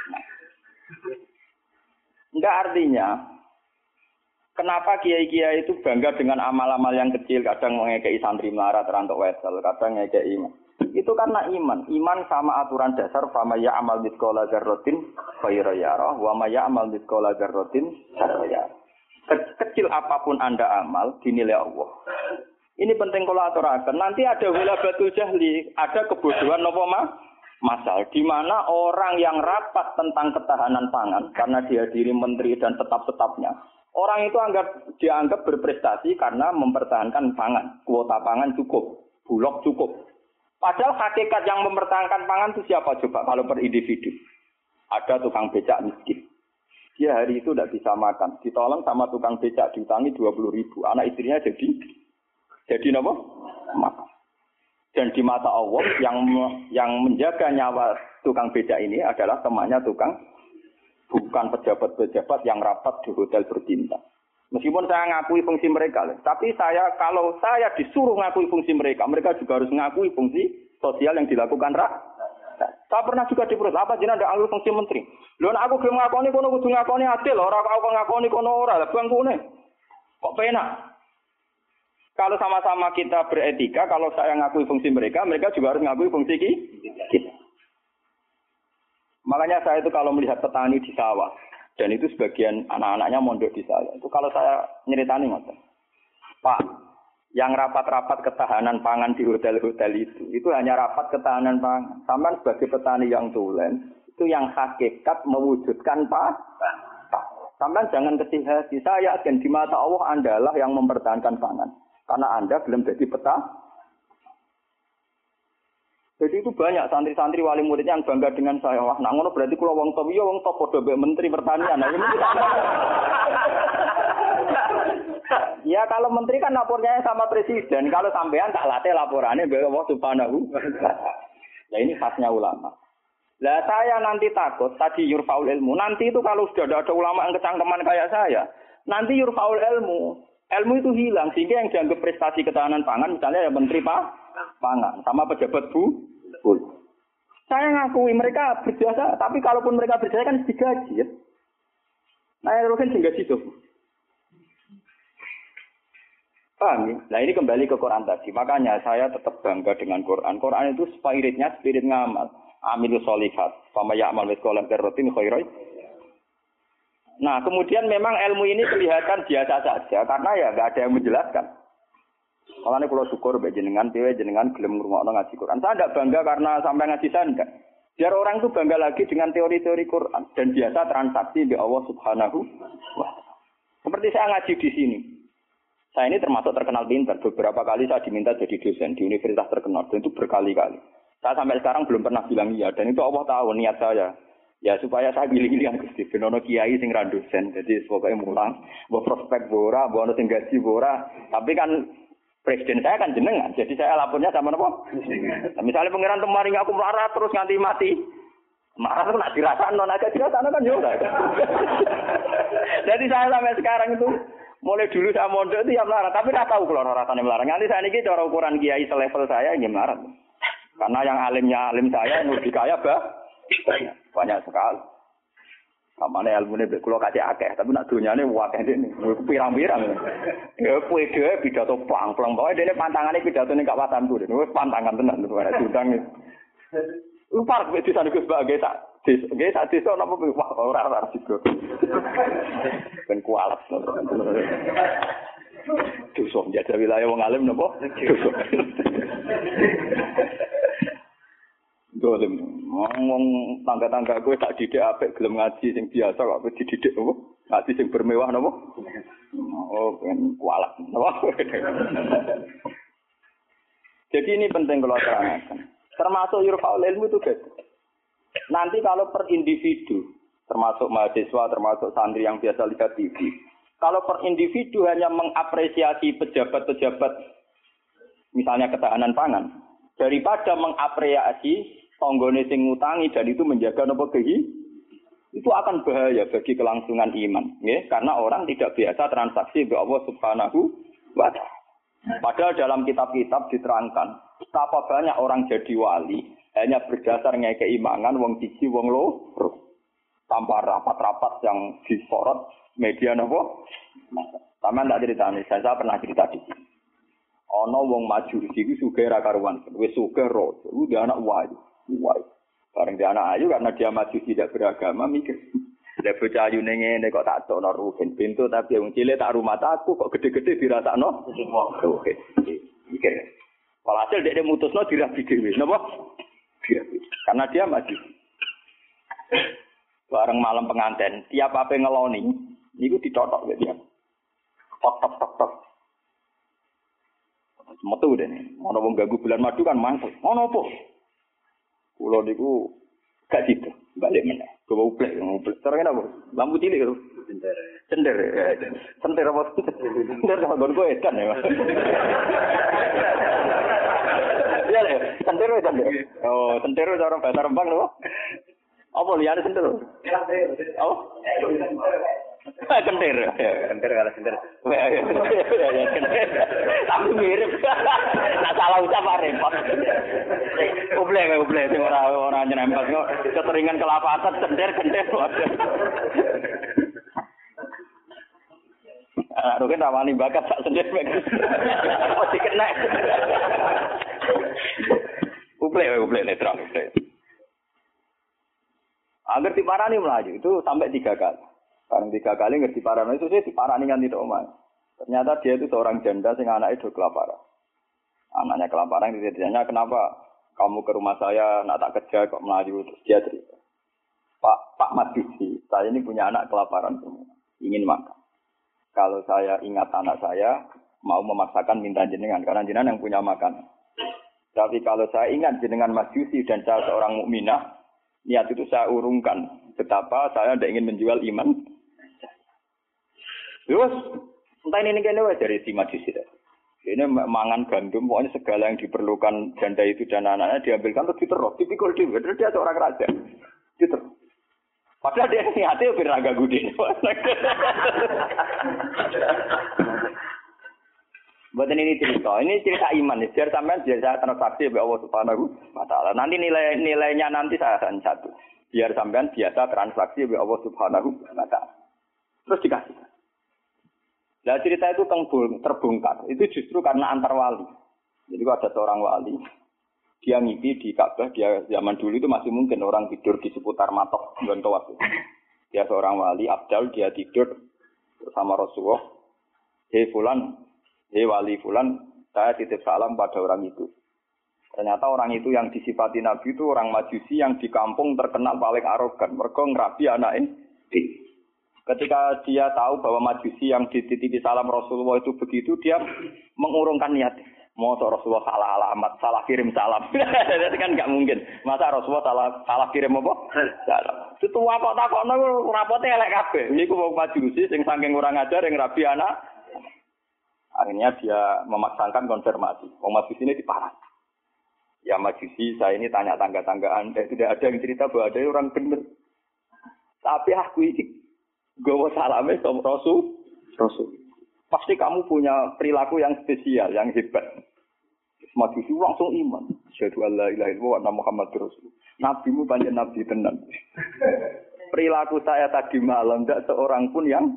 Enggak artinya, kenapa kiai-kiai itu bangga dengan amal-amal yang kecil, kadang ngekei santri melarat rantok wesel, kadang ngekei iman. Itu karena iman. Iman sama aturan dasar fama ya'mal mithqala dzarratin khairan yarah wa ma ya'mal mithqala dzarratin syarran yarah. Kecil apapun Anda amal dinilai Allah. Ini penting kalau aturaken. Nanti ada wilabatul jahli, ada kebodohan napa mah? Masal di mana orang yang rapat tentang ketahanan pangan karena dihadiri menteri dan tetap-tetapnya. Orang itu anggap dianggap berprestasi karena mempertahankan pangan. Kuota pangan cukup, bulog cukup. Padahal hakikat yang mempertahankan pangan itu siapa coba kalau per individu? Ada tukang becak miskin. Dia hari itu tidak bisa makan. Ditolong sama tukang becak diutangi dua puluh ribu. Anak istrinya jadi jadi apa? Makan. Dan di mata Allah yang yang menjaga nyawa tukang becak ini adalah temannya tukang, bukan pejabat-pejabat yang rapat di hotel berbintang. Meskipun saya ngakui fungsi mereka, tapi saya kalau saya disuruh ngakui fungsi mereka, mereka juga harus ngakui fungsi sosial yang dilakukan rakyat. Saya pernah juga diperut, apa jenenge ada alur fungsi menteri. Lho nek aku gelem ngakoni kono kudu ngakoni adil, ora kok ngakoni kono ora, lah bangkune. Kok penak? Kalau sama-sama kita beretika, kalau saya ngakui fungsi mereka, mereka juga harus ngakui fungsi kita. Makanya saya itu kalau melihat petani di sawah, dan itu sebagian anak-anaknya mondok di saya. Itu kalau saya nyeritani ngoten. Pak, yang rapat-rapat ketahanan pangan di hotel-hotel itu, itu hanya rapat ketahanan pangan. Sampai sebagai petani yang tulen, itu yang hakikat mewujudkan pak. Sampai jangan kecil hati. Saya yakin di mata Allah Andalah yang mempertahankan pangan. Karena Anda belum jadi peta. Jadi itu banyak santri-santri wali murid yang bangga dengan saya. Wah, nak ngono berarti kula wong top, iya wong top padha mbek menteri pertanian. Nah, ini ya kalau menteri kan lapornya sama presiden. Kalau sampean tak latih laporannya mbek Allah Subhanahu. Nah, ini khasnya ulama. Lah saya nanti takut tadi yurfaul ilmu. Nanti itu kalau sudah ada ulama yang kecangkeman kayak saya, nanti yurfaul ilmu. Ilmu itu hilang sehingga yang dianggap prestasi ketahanan pangan misalnya ya menteri Pak pangan sama pejabat bu, bu. Saya ngakui mereka berjasa, tapi kalaupun mereka berjasa kan digaji ya. Nah itu kan digaji tuh. Paham ya? Nah ini kembali ke Quran tadi. Makanya saya tetap bangga dengan Quran. Quran itu spiritnya spirit ngamal. Amilus solihat. Fama ya'mal mithqala dzarratin khairan. Nah kemudian memang ilmu ini kelihatan biasa saja karena ya nggak ada yang menjelaskan. Makanya kalau syukur bagi jenengan, piye jenengan gelem ngrungokno ngaji Quran. Saya tidak bangga karena sampai ngaji saya enggak. Biar orang itu bangga lagi dengan teori-teori Quran dan biasa transaksi di Allah Subhanahu wa taala. Seperti saya ngaji di sini. Saya ini termasuk terkenal pintar. Beberapa kali saya diminta jadi dosen di universitas terkenal dan itu berkali-kali. Saya sampai sekarang belum pernah bilang iya dan itu Allah tahu niat saya. Ya supaya saya pilih-pilih yang Gusti ben ono kiai sing ra dosen. Jadi pokoke mulang, mbok prospek bora, mbok ono sing gaji bora. Tapi kan presiden saya kan jenengan. Jadi saya lapornya sama napa? Nah, misalnya pangeran temaring aku melarat terus nganti mati. Marah itu nak dirasakno, nak dirasakno kan yo ora. Jadi saya sampai sekarang itu Mulai dulu saya mondok itu ya melarat, tapi tidak tahu kalau rasanya melarat. Nanti saya ini cara ukuran kiai selevel saya ya melarat. Karena yang alimnya alim saya, yang lebih kaya bah, banyak sekali. Kamane ilmune mbek kula kacek akeh, tapi nak donyane akeh dene. Pirang-pirang. Ya kowe dhewe pidato plang-plang bae dene pantangane pidatone gak watanku. Wis pantangan tenan lho arek diundang. Lu parek wis disane Gus Bak nggih tak. Nggih tak desa napa wah ora ora sigo. Ben kualat. Dosa njajal wilayah wong alim napa? Dosa. Dolim, ngomong tangga-tangga gue tak didik apik gelem ngaji sing biasa kok kowe dididik apa? Ngaji sing bermewah napa? Oh, ben kualat. Napa? Jadi ini penting kalau terangkan. Termasuk yurfa'ul ilmu itu guys. Nanti kalau per individu, termasuk mahasiswa, termasuk santri yang biasa lihat T V, kalau per individu hanya mengapresiasi pejabat-pejabat, misalnya ketahanan pangan, daripada mengapresiasi tonggone sing ngutangi dan itu menjaga nopo kehi, itu akan bahaya bagi kelangsungan iman, ya, karena orang tidak biasa transaksi dengan Allah Subhanahu wa taala. Padahal dalam kitab-kitab diterangkan betapa banyak orang jadi wali hanya berdasar ngekei imangan wong siji wong loro. Tanpa rapat-rapat yang disorot media nopo. Sama ndak ceritane, saya pernah cerita di sini. Ana wong Majusi iku sugih ra karuan, wis sugih ro, udah anak wayu. Wah, bareng dia anak ayu karena dia masih tidak beragama mikir. Ada bocah ayu ngene kok tak tokno rugen pintu tapi wong cilik tak rumah aku kok gede-gede dirasakno. Oke. Mikir. Walhasil dia mutusno dirabi dhewe. Napa? Dirabi. Karena dia masih bareng malam pengantin, tiap apa ngeloni niku ditotok dia. Tok tok tok tok. Metu dene. Ana wong ganggu bulan madu kan mangkel. Ono apa? Kulo niku gak situ, balik meneh. Gowo uplek, uplek. Terus apa? Lampu cilik lho. Cender. Cender. Cender apa? Cender sama gon kowe edan ya. Iya lho, cender edan. Oh, cender cara bahasa Rembang lho. Apa liyane cender? Oh. Kentir. Kentir kalau kentir. Tapi mirip. Tak salah ucap repot. Ublek, ublek sing ora ora nyerempet kok keteringan kelapatan kentir kentir. Ah, rugen rawani bakat sak sendir mek. Mesti kena. Ublek, ublek netral. Agar diparani melaju itu sampai tiga kali. Barang tiga kali ngerti parano itu sih diparani kan tidak omah. Ternyata dia itu seorang janda sing anaknya do kelaparan. Anaknya kelaparan ditanya kenapa kamu ke rumah saya nak tak kerja kok melaju terus dia cerita. Pak Pak Majusi, saya ini punya anak kelaparan semua, ingin makan. Kalau saya ingat anak saya mau memaksakan minta jenengan karena jenengan yang punya makanan. Tapi kalau saya ingat jenengan Majusi dan saya seorang mukminah, niat itu saya urungkan betapa saya tidak ingin menjual iman. Terus, entah ini kene wae dari si Majusi. Ini mangan gandum, pokoknya segala yang diperlukan janda itu dan anak-anaknya diambilkan terus diterus, tipikal dia, terus dia seorang raja. Diterus. Padahal dia niatnya biar agak gede. Buat ini cerita, ini cerita iman. Biar sampean biar saya transaksi oleh Allah Subhanahu wa taala. Nanti nilai nilainya nanti saya akan satu. Biar sampean biasa transaksi oleh Allah Subhanahu wa taala. Terus dikasih. Nah cerita itu terbongkar. Itu justru karena antar wali. Jadi kalau ada seorang wali, dia ngipi di Ka'bah. Dia zaman dulu itu masih mungkin orang tidur di seputar matok dan tawaf. Dia seorang wali, Abdal, dia tidur bersama Rasulullah. Hei fulan, hei wali fulan, saya titip salam pada orang itu. Ternyata orang itu yang disifati Nabi itu orang Majusi yang di kampung terkenal paling arogan. Mereka ngerabi anaknya. Ketika dia tahu bahwa Majusi yang dititipi salam Rasulullah itu begitu, dia mengurungkan niat. Mau Rasulullah salah alamat, salah kirim salam. Itu kan nggak mungkin. Masa Rasulullah salah salah kirim apa? Salam. Itu apa tak kok rapotnya elek kabeh. Niku wong Majusi sing saking kurang ajar yang rabi anak. Akhirnya dia memaksakan konfirmasi. Wong Majusi ini diparah. Ya Majusi, saya ini tanya tangga-tanggaan. Eh, tidak ada yang cerita bahwa ada orang benar. Tapi aku ini gawa salame sama Rasul. Rasul. Pasti kamu punya perilaku yang spesial, yang hebat. Maju langsung iman. Asyhadu an la ilaha illallah wa anna Muhammadur Rasulullah. Nabimu pancen nabi tenan. Perilaku saya tadi malam tidak seorang pun yang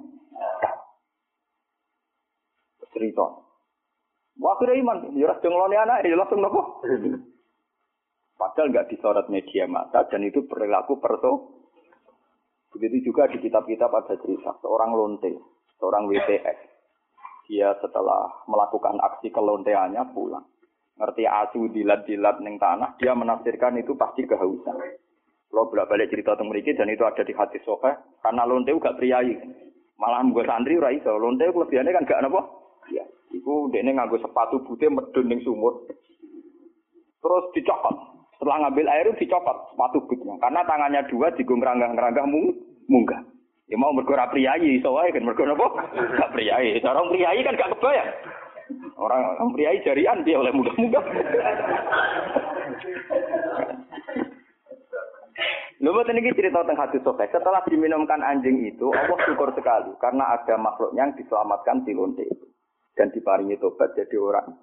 cerita. Wah, kira iman. Ya ora nglone anak, ya langsung nopo. Padahal enggak disorot media massa dan itu perilaku perso. Begitu juga di kitab-kitab ada cerita seorang lonte, seorang W T S. Dia setelah melakukan aksi kelonteannya pulang. Ngerti asu dilat-dilat ning tanah, dia menafsirkan itu pasti kehausan. Kalau bolak-balik cerita tentang mriki dan itu ada di hadis sahih, karena lonte gak priyayi. Malah nggo santri ora iso. Lonte kelebihane kan gak napa? Ya, iku dekne nganggo sepatu bute medun ning sumur. Terus dicokot. Setelah ngambil air dicokot sepatu butnya. Karena tangannya dua digo ngeranggah-ngeranggah mung munggah. Ya mau mergo ora priyayi iso wae kan mergo napa? Gak priyayi. Cara priyayi kan gak kebayang. Orang orang priai jarian dia oleh mudah-mudah. Lalu ini cerita tentang hadis sahih. Setelah diminumkan anjing itu, Allah syukur sekali karena ada makhluk yang diselamatkan di lonte itu dan diparingi tobat jadi orang.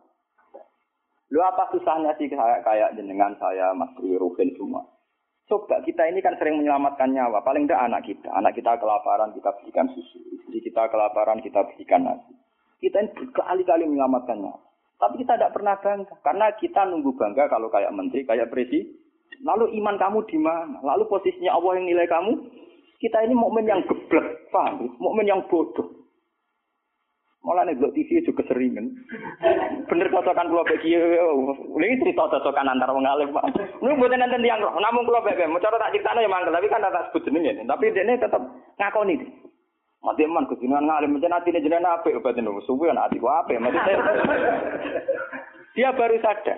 Lu apa susahnya sih kayak kayak jenengan saya, Mas Ruhin semua. Coba kita ini kan sering menyelamatkan nyawa. Paling tidak anak kita, anak kita kelaparan kita berikan susu, istri kita kelaparan kita berikan nasi. Kita ini berkali-kali menyelamatkannya. Tapi kita tidak pernah bangga. Karena kita nunggu bangga kalau kayak menteri, kayak presiden. Lalu iman kamu di mana? Lalu posisinya Allah yang nilai kamu. Kita ini mukmin yang geblek, paham? Mukmin yang bodoh. Malah nek T V juga keseringan. Bener cocokan kula bagi ini cerita cocokan antar wong alim, Pak. Niku mboten enten tiyang roh, namung kula bebek. Mau cara tak critakno ya mangkel, tapi kan tak sebut jenenge. Tapi dene tetep ngakoni. Mati man kejenengan ngalim mencen atine jenengan apik obaten niku suwi ana atiku apik mati saya. Dia baru sadar.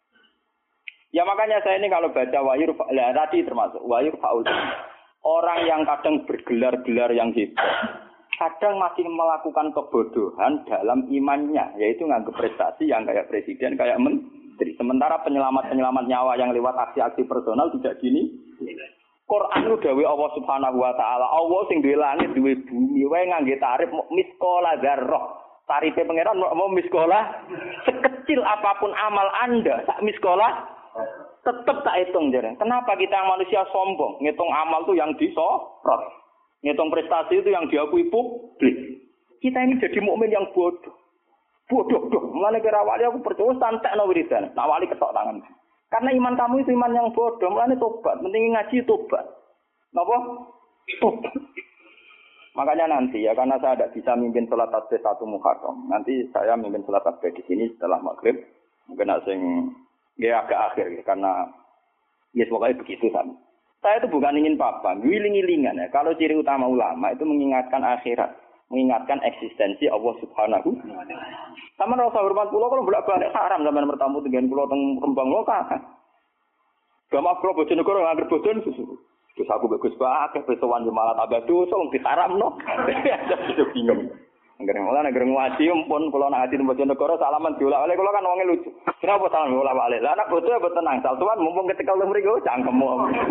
Ya makanya saya ini kalau baca wahyu lah tadi termasuk wahyu faul. Orang yang kadang bergelar-gelar yang hebat, kadang masih melakukan kebodohan dalam imannya, yaitu nganggap prestasi yang kayak presiden, kayak menteri. Sementara penyelamat-penyelamat nyawa yang lewat aksi-aksi personal tidak gini. Quran itu dawuh Allah Subhanahu wa taala, Allah sing duwe langit, duwe bumi, wae ngangge tarif miskola dzarrah. Tarife pangeran mau miskola sekecil apapun amal Anda, sak miskola tetap tak hitung jare. Kenapa kita yang manusia sombong, ngitung amal itu yang disorot, ngitung prestasi itu yang diakui publik. Kita ini jadi mukmin yang bodoh. Bodoh doh. Mulane kira wali aku percaya santekno wiridan, tak wali ketok tangan. Karena iman kamu itu iman yang bodoh, mulane tobat, penting ngaji tobat. Napa? Tobat. Makanya nanti ya, karena saya tidak bisa mimpin sholat tasbih satu Muharram. Nanti saya mimpin sholat tasbih di sini setelah maghrib. Mungkin asing ya agak akhir ya, karena ya pokoknya begitu sama. Saya itu bukan ingin apa, wiling-wilingan ya. Kalau ciri utama ulama itu mengingatkan akhirat, mengingatkan eksistensi Allah Subhanahu. Sama rasa hormat pulau kalau bolak-balik haram zaman bertamu dengan pulau teng Rembang lokal. Gak maaf kalau Bojonegoro nganggep bojon susu. Terus aku bagus banget, pesowan malah tambah dosa, wong diharamno. Aku bingung. Angger malah angger ngaji pun kula nak ngaji teng Bojonegoro salaman diolak-oleh kula kan wonge lucu. Kenapa salaman diolak-oleh? Lah anak bojo ya tenang, saltuan mumpung ketekal teng mriki cangkemmu.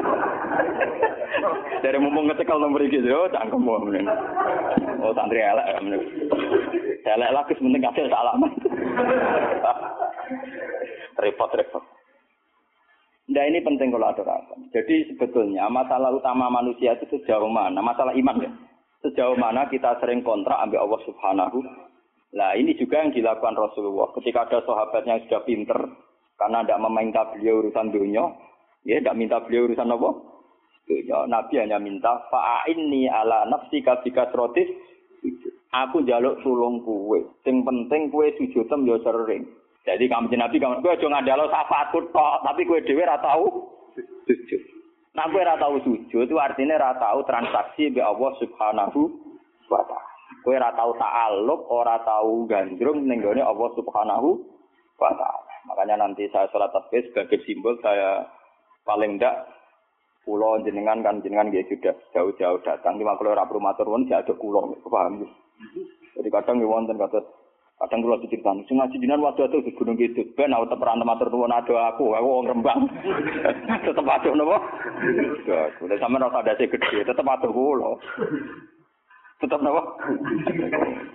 Dari mumpung ketekal teng mriki yo cangkemmu. Oh santri elek. Elek lagi penting kasih salaman. Repot-repot. Nah ini penting kalau aturakan. Jadi sebetulnya masalah utama manusia itu sejauh mana? Masalah iman ya. Sejauh mana kita sering kontrak ambil Allah Subhanahu. Nah ini juga yang dilakukan Rasulullah. Ketika ada sahabat yang sudah pinter, karena tidak meminta beliau urusan dunia, ya tidak minta beliau urusan apa? Dunia. Nabi hanya minta fa'inni ala nafsika bikasrotis. Aku njaluk tulung kowe. Sing penting kowe sujudem yo sering. Jadi kamu Nabi kamu kowe aja ngandalo syafaatku tok, tapi kowe dhewe ora tau sujud. Nah kowe ora tau sujud itu artinya ora tau transaksi mbek Allah Subhanahu wa taala. Kowe ora tau ta'alluq, ora tau gandrung ning gone Allah Subhanahu wa taala. Makanya nanti saya salat tasbih sebagai simbol saya paling ndak kula jenengan kan jenengan nggih sudah jauh-jauh datang cuma kalau ora perlu matur nuwun ya ada kula paham. Jadi kadang nggih wonten kados kadang kula diceritain, sing ngaji jenengan waduh-waduh di Gunung Kidul, ben aku teperan matur nuwun ado aku, aku wong Rembang. Tetep adoh napa? Ya, kuwi sampeyan ora sadase gedhe, tetep adoh kula. Tetep napa?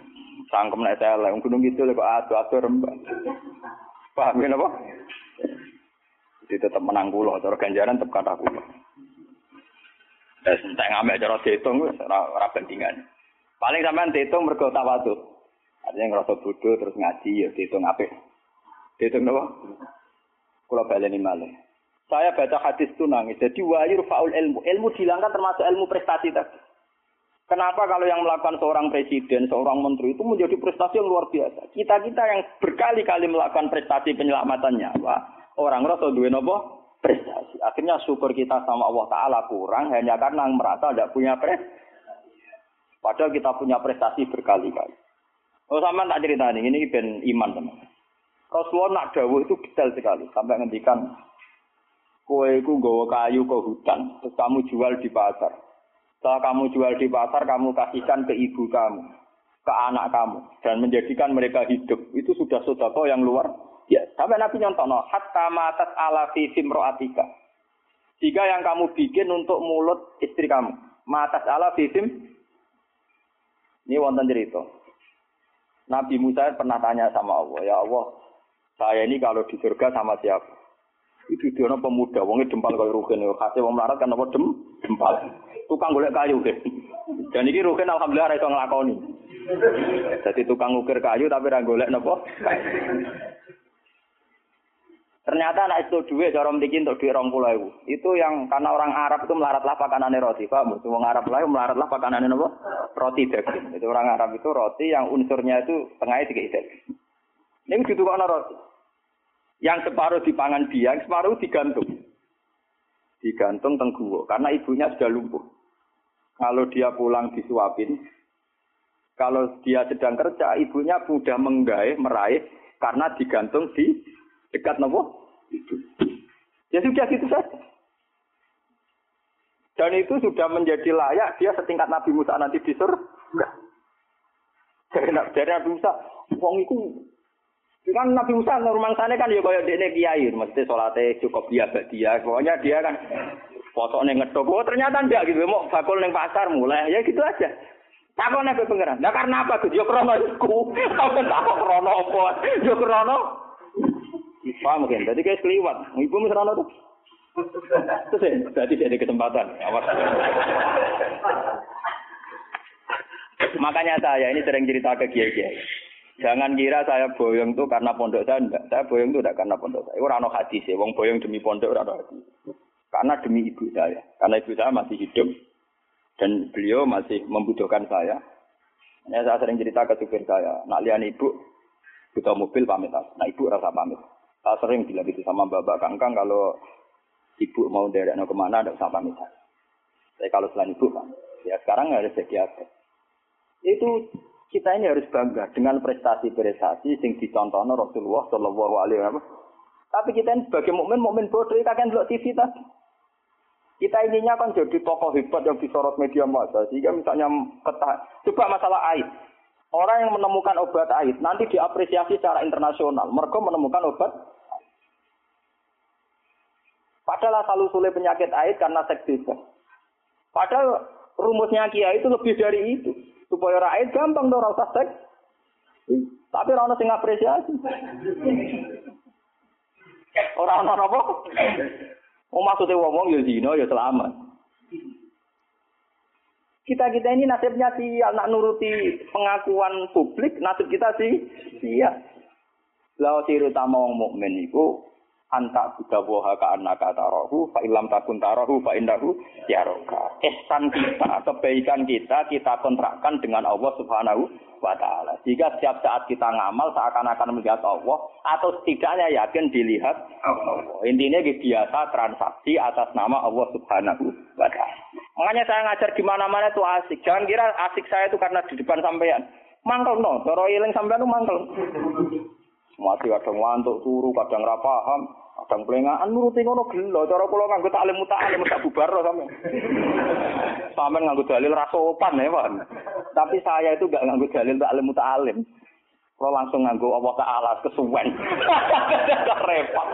Sangkem nek elek wong gunung kidul kok adu-adu rembak. Paham ya napa? Jadi tetap menang kula, cara ganjaran tetep kathah kula. Wes entek ngamek cara diitung wis ora ora bandingan. Paling sampean diitung mergo tawadhu. Artinya ngerasa bodoh terus ngaji ya diitung apik. Diitung napa? Kula baleni malih. Saya baca hadis itu nangis. Jadi wayur faul ilmu. Ilmu dihilangkan termasuk ilmu prestasi tadi. Kenapa kalau yang melakukan seorang presiden, seorang menteri itu menjadi prestasi yang luar biasa. Kita-kita yang berkali-kali melakukan prestasi penyelamatan nyawa, orang rasa duwe napa? Prestasi. Akhirnya syukur kita sama Allah Ta'ala kurang hanya karena merasa tidak punya prestasi. Padahal kita punya prestasi berkali-kali. Oh sama tak cerita ini, ini ben iman teman. Rasulullah nak dawuh itu detail sekali. Sampai ngendikan, kowe iku nggawa kayu ke hutan, terus kamu jual di pasar. Setelah kamu jual di pasar, kamu kasihkan ke ibu kamu, ke anak kamu, dan menjadikan mereka hidup. Itu sudah sedekah yang luar ya, sampai Nabi nyontono, hatta matat ala fi simroatika. Jika yang kamu bikin untuk mulut istri kamu, matat ala fi sim. Ini wonten cerita. Nabi Musa pernah tanya sama Allah, ya Allah, saya ini kalau di surga sama siapa? Itu dia pemuda, wongnya dempal kaya Ruhin, kasih wong melarat kan apa dem, dempal. Tukang golek kayu deh. Dan ini Ruhin alhamdulillah iso nglakoni. Jadi tukang ukir kayu tapi ra golek napa? Ternyata anak itu duit, cara mriki untuk duit dua puluh ribu. Itu yang karena orang Arab itu melaratlah pakanane roti, paham? Wong Arab lain melaratlah pakanane napa? Roti daging. Itu orang Arab itu roti yang unsurnya itu tengahnya tiga daging. Ini ditukokno roti. Yang separuh dipangan dia, yang separuh digantung. Digantung teng guwa karena ibunya sudah lumpuh. Kalau dia pulang disuapin, kalau dia sedang kerja, ibunya mudah menggaih, meraih karena digantung di dekat nopo itu. Ya sudah gitu saja. Dan itu sudah menjadi layak dia setingkat Nabi Musa nanti di surga. Dari Nabi Musa, wong iku kan Nabi Musa rumangsane kan ya kaya dekne kiai, mesti salate cukup dia dia. Pokoknya dia kan potone ngethuk. Oh ternyata ndak gitu, mau bakul ning pasar mulai. Ya gitu aja. Takone be pengeran. Lah karena apa Gus? Ya krana iku. Apa tak krana apa? Ya krana paham kan? Tadi kayak keliwat. Ibu mesti ana tuh. Terus ya, berarti ada kesempatan. Awas. Makanya saya ini sering cerita ke kiai-kiai. Jangan kira saya boyong tuh karena pondok saya enggak. Saya boyong tuh enggak karena pondok saya. Ora ono hadis ya, wong boyong demi pondok ora ono hadis. Karena demi ibu saya. Karena ibu saya masih hidup dan beliau masih membutuhkan saya. Ya, saya sering cerita ke supir saya, nak lihat ibu butuh mobil pamit. Nah ibu rasa pamit. Saya sering bilang gitu sama Bapak Kangkang kalau ibu mau derekno kemana enggak usah pamit. Tapi kalau selain ibu kan, ya sekarang harus jadi apa? Itu kita ini harus bangga dengan prestasi-prestasi yang dicontohkan Rasulullah Shallallahu Alaihi Wasallam. Tapi kita ini sebagai mukmin, mukmin bodoh, kita kan lihat T V tadi. Kita ininya kan jadi tokoh hebat yang disorot media massa. Sehingga misalnya ketah, coba masalah aid. Orang yang menemukan obat aid nanti diapresiasi secara internasional. Mereka menemukan obat. Padahal asal usulnya penyakit aid karena seks bebas. Padahal rumusnya kiai itu lebih dari itu. Supaya rakyat gampang dong rasa seks. Tapi ora ono sing apresiasi. Ora ono apa? Oh maksudnya wong ya zina ya selamat. Kita-kita ini nasibnya sial nak nuruti pengakuan publik, nasib kita sih sial. Lah ciri utama wong mukmin iku anta budawaha ka annaka tarahu fa illam takun tarahu fa innahu yaraka. Ihsan kita, kebaikan kita kita kontrakkan dengan Allah Subhanahu wa taala. Jika setiap saat kita ngamal seakan-akan melihat Allah atau setidaknya yakin dilihat Allah. Intinya biasa transaksi atas nama Allah Subhanahu wa taala. Makanya saya ngajar di mana-mana itu asik. Jangan kira asik saya itu karena di depan sampean. Mangkel no, cara eling sampean itu mangkel. Masih kadang ngantuk turu, kadang ra paham, kadang plengaan nuruti ngono gelo. Cara kula nganggo taklim muta'alim tak bubar sampean. Sampeyan nganggo dalil ra sopan ya, Pak. Tapi saya itu enggak nganggo dalil taklim muta'alim. Kula langsung nganggo Allah Ta'ala kesuwen. Repot.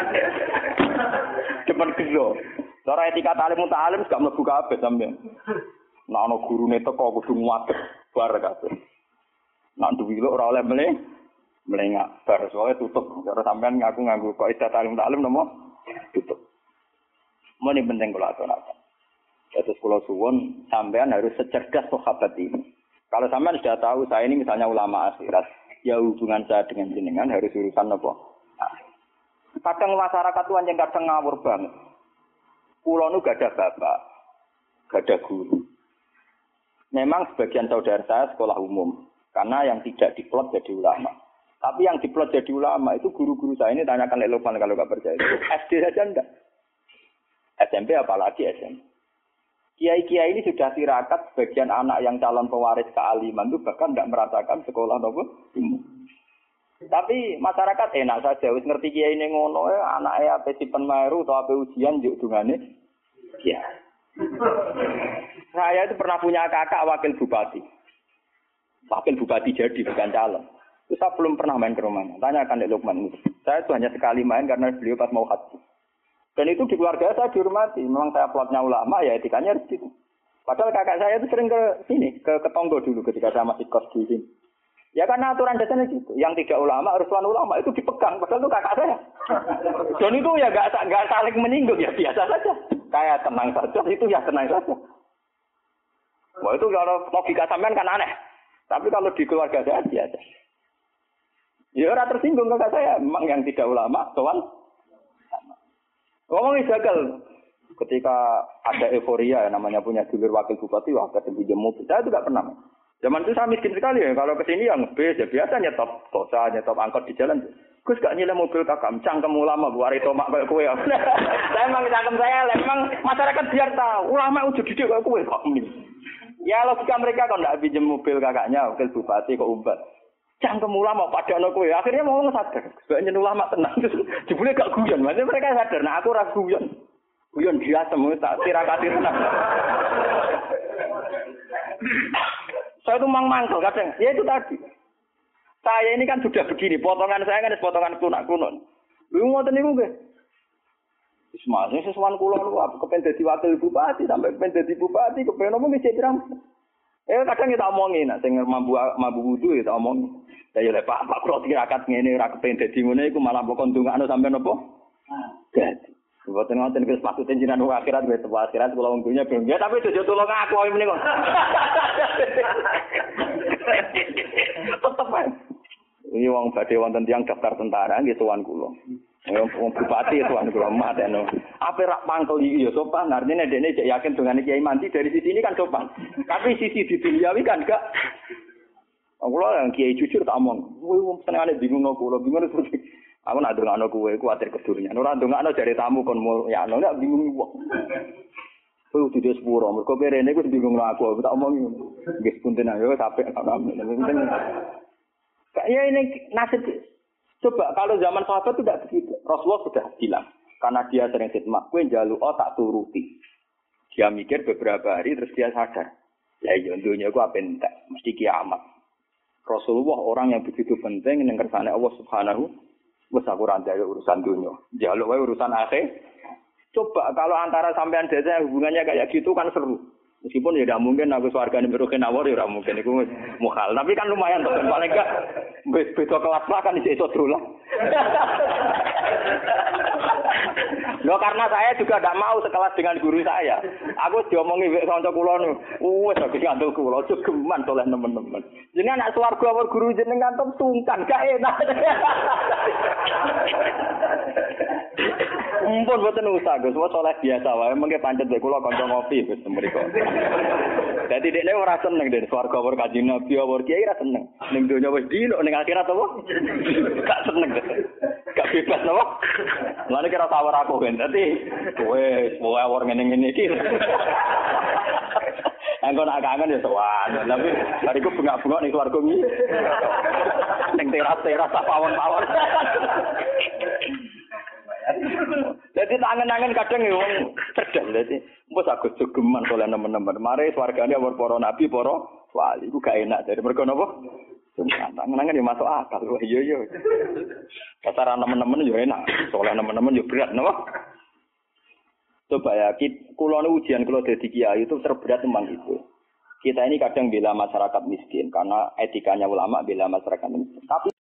Depan gelo. Cara etika taklim muta'alim gak mlebu kabeh sampean. Nek ana gurune teko kudu nguwat bar kabeh. Nak duwi lho ora oleh mele melengak. Bar soalnya tutup. Cara sampean ngaku nganggo kok istilah talim taklim nomo tutup. Mau ini penting kalau aturakan. Terus kalau suwon sampean harus secerdas sahabat ini. Kalau sampean sudah tahu saya ini misalnya ulama akhirat, ya hubungan saya dengan jenengan harus urusan apa? Kadang masyarakat itu anjing kadang ngawur banget. Kulo nu gak ada bapak, gak ada guru. Memang sebagian saudara saya sekolah umum, karena yang tidak diplot jadi ulama. Tapi yang diplot jadi ulama itu guru-guru saya ini tanyakan Lek Lukman kalau gak percaya. S D saja enggak. S M P apalagi S M P. Kiai-kiai ini sudah tirakat sebagian anak yang calon pewaris kealiman itu bahkan tidak merasakan sekolah nopo umum. Tapi masyarakat enak saja, wis ngerti kiai ini ngono, anaknya ape sipen meru atau ape ujian juk dungane. Ya. Saya itu pernah punya kakak wakil bupati. Wakil bupati jadi bukan calon. Itu saya belum pernah main ke rumahnya. Tanyakan Dek Lukman itu. Saya itu hanya sekali main karena beliau pas mau haji. Dan itu di keluarga saya dihormati. Memang saya plotnya ulama, ya etikanya harus gitu. Padahal kakak saya itu sering ke sini, ke Ketonggo dulu ketika saya masih kos di sini. Ya karena aturan dasarnya gitu. Yang tidak ulama, harus tuan ulama itu dipegang. Padahal itu kakak saya. Dan itu ya nggak nggak saling menyinggung, ya biasa saja. Kayak tenang saja, itu ya tenang saja. Wah itu kalau logika sampean kan aneh. Tapi kalau di keluarga saya biasa. Ya orang tersinggung kakak saya. Memang yang tidak ulama, tuan. Ngomongin gagal. Ketika ada euforia, namanya punya dulur wakil bupati, wah ketemu pinjam mobil. Saya juga pernah. Zaman itu saya miskin sekali ya. Kalau kesini yang ngebis ya biasa nyetop tosa, nyetop angkot di jalan. Gus gak nyilem mobil kakak, cangkem ulama, bu hari tomak kayak kue. Saya emang cangkem saya, memang masyarakat biar tahu. Ulama udah didik kayak kue kok ini. Ya logika mereka kalau nggak pinjam mobil kakaknya, wakil bupati kok umbat. Cangkem ulama pada anak kue. Akhirnya mau sadar. Sebenarnya ulama tenang. Jebule gak guyon. Maksudnya mereka sadar. Nah aku ragu guyon. Guyon dia semua tak tirakati tenang. Saya itu mang mangkel kadang. Ya itu tadi. Saya ini kan sudah begini. Potongan saya kan potongan kuno-kuno. Lu ngoten niku nggih. Wis masih sesuwan kula niku aku kepen dadi wakil bupati sampai kepen dadi bupati kepen omong wis pirang. Eh kadang kita omongin nek sing mambu mambu wudu ya tak omong. Ya ya lek Pak Pak kula tirakat ngene ora kepen dadi ngene iku malah mbok ndongakno sampe napa? Dadi. Mboten ngoten wis maksudnya jenengan akhirat wis akhirat kula wong dunya ben. Ya tapi aja tulung aku ae meneh kok. Tetep ae. Ini wong badhe wonten tiyang daftar tentara nggih tuan kula. Wong bupati tuan kula mateno. Ape rak pangkel iki ya sopan. Artine dekne cek yakin dongane Kiai Mandi dari sisi ini kan sopan. Tapi sisi di duniawi kan gak. Kula yang Kiai jujur tak omong. Kowe wong senengane bingung kula, bingung terus. Aku nak ndongakno kowe kuwatir kedurnya. Ora ndongakno jare tamu kon ya ana ndak bingung wong. Kowe kudu sepuro, mergo perene ku bingung aku, tak omongi ngono. Nggih punten ayo sampe penting. Kayak ini nasib. Coba kalau zaman sahabat itu tidak begitu. Rasulullah sudah bilang karena dia sering khidmat, kowe njaluk oh tak turuti. Dia mikir beberapa hari terus dia sadar. Ya iya dunya ku apa entek, mesti kiamat. Rasulullah orang yang begitu penting ning kersane Allah Subhanahu wis aku ora njaluk urusan dunia. Njaluk wae urusan akhir. Coba kalau antara sampean desa hubungannya kayak gitu kan seru. Meskipun ya tidak mungkin aku swargane beroke nawar ya ora mungkin iku mukhal. Tapi kan lumayan to paling enggak beda kelas lah kan iso dolan. Loh karena saya juga tidak mau sekelas dengan guru saya. Aku diomongi wek kanca kula niku. Wes aku ngandel kula aja geman oleh teman-teman. Jenengan nak swarga awak guru jenengan top sungkan gak enak. Mumpun boten usah Gus, wis oleh biasa wae mengke pancet wek kula kanca ngopi Gus mriko. Dadi dekne ora seneng den swarga awak kanjeng Nabi awak kiai ora seneng. Ning donya wis dilok ning akhirat apa? Gak seneng. Gak bebas napa? Lane kira tawar aku kan. Dadi wis wae awak ngene-ngene iki. Anggo nak kangen ya sowan. Tapi bariku bengak-bengok ning swarga iki. Ning teras-teras pawon-pawon. Jadi tangan-tangan kadang ya wong cerdas dadi mbok aku jogeman oleh nemen-nemen. Mare swargane awor para nabi, para wali iku gak enak dari mergo napa? Tangan-tangan ya masuk akal. Wah iya iya. Dasar nemen-nemen ya enak, oleh nemen-nemen ya berat napa? Coba ya, kula nu ujian kula dadi kiai itu terberat memang itu. Kita ini kadang bela masyarakat miskin karena etikanya ulama bela masyarakat miskin. Tapi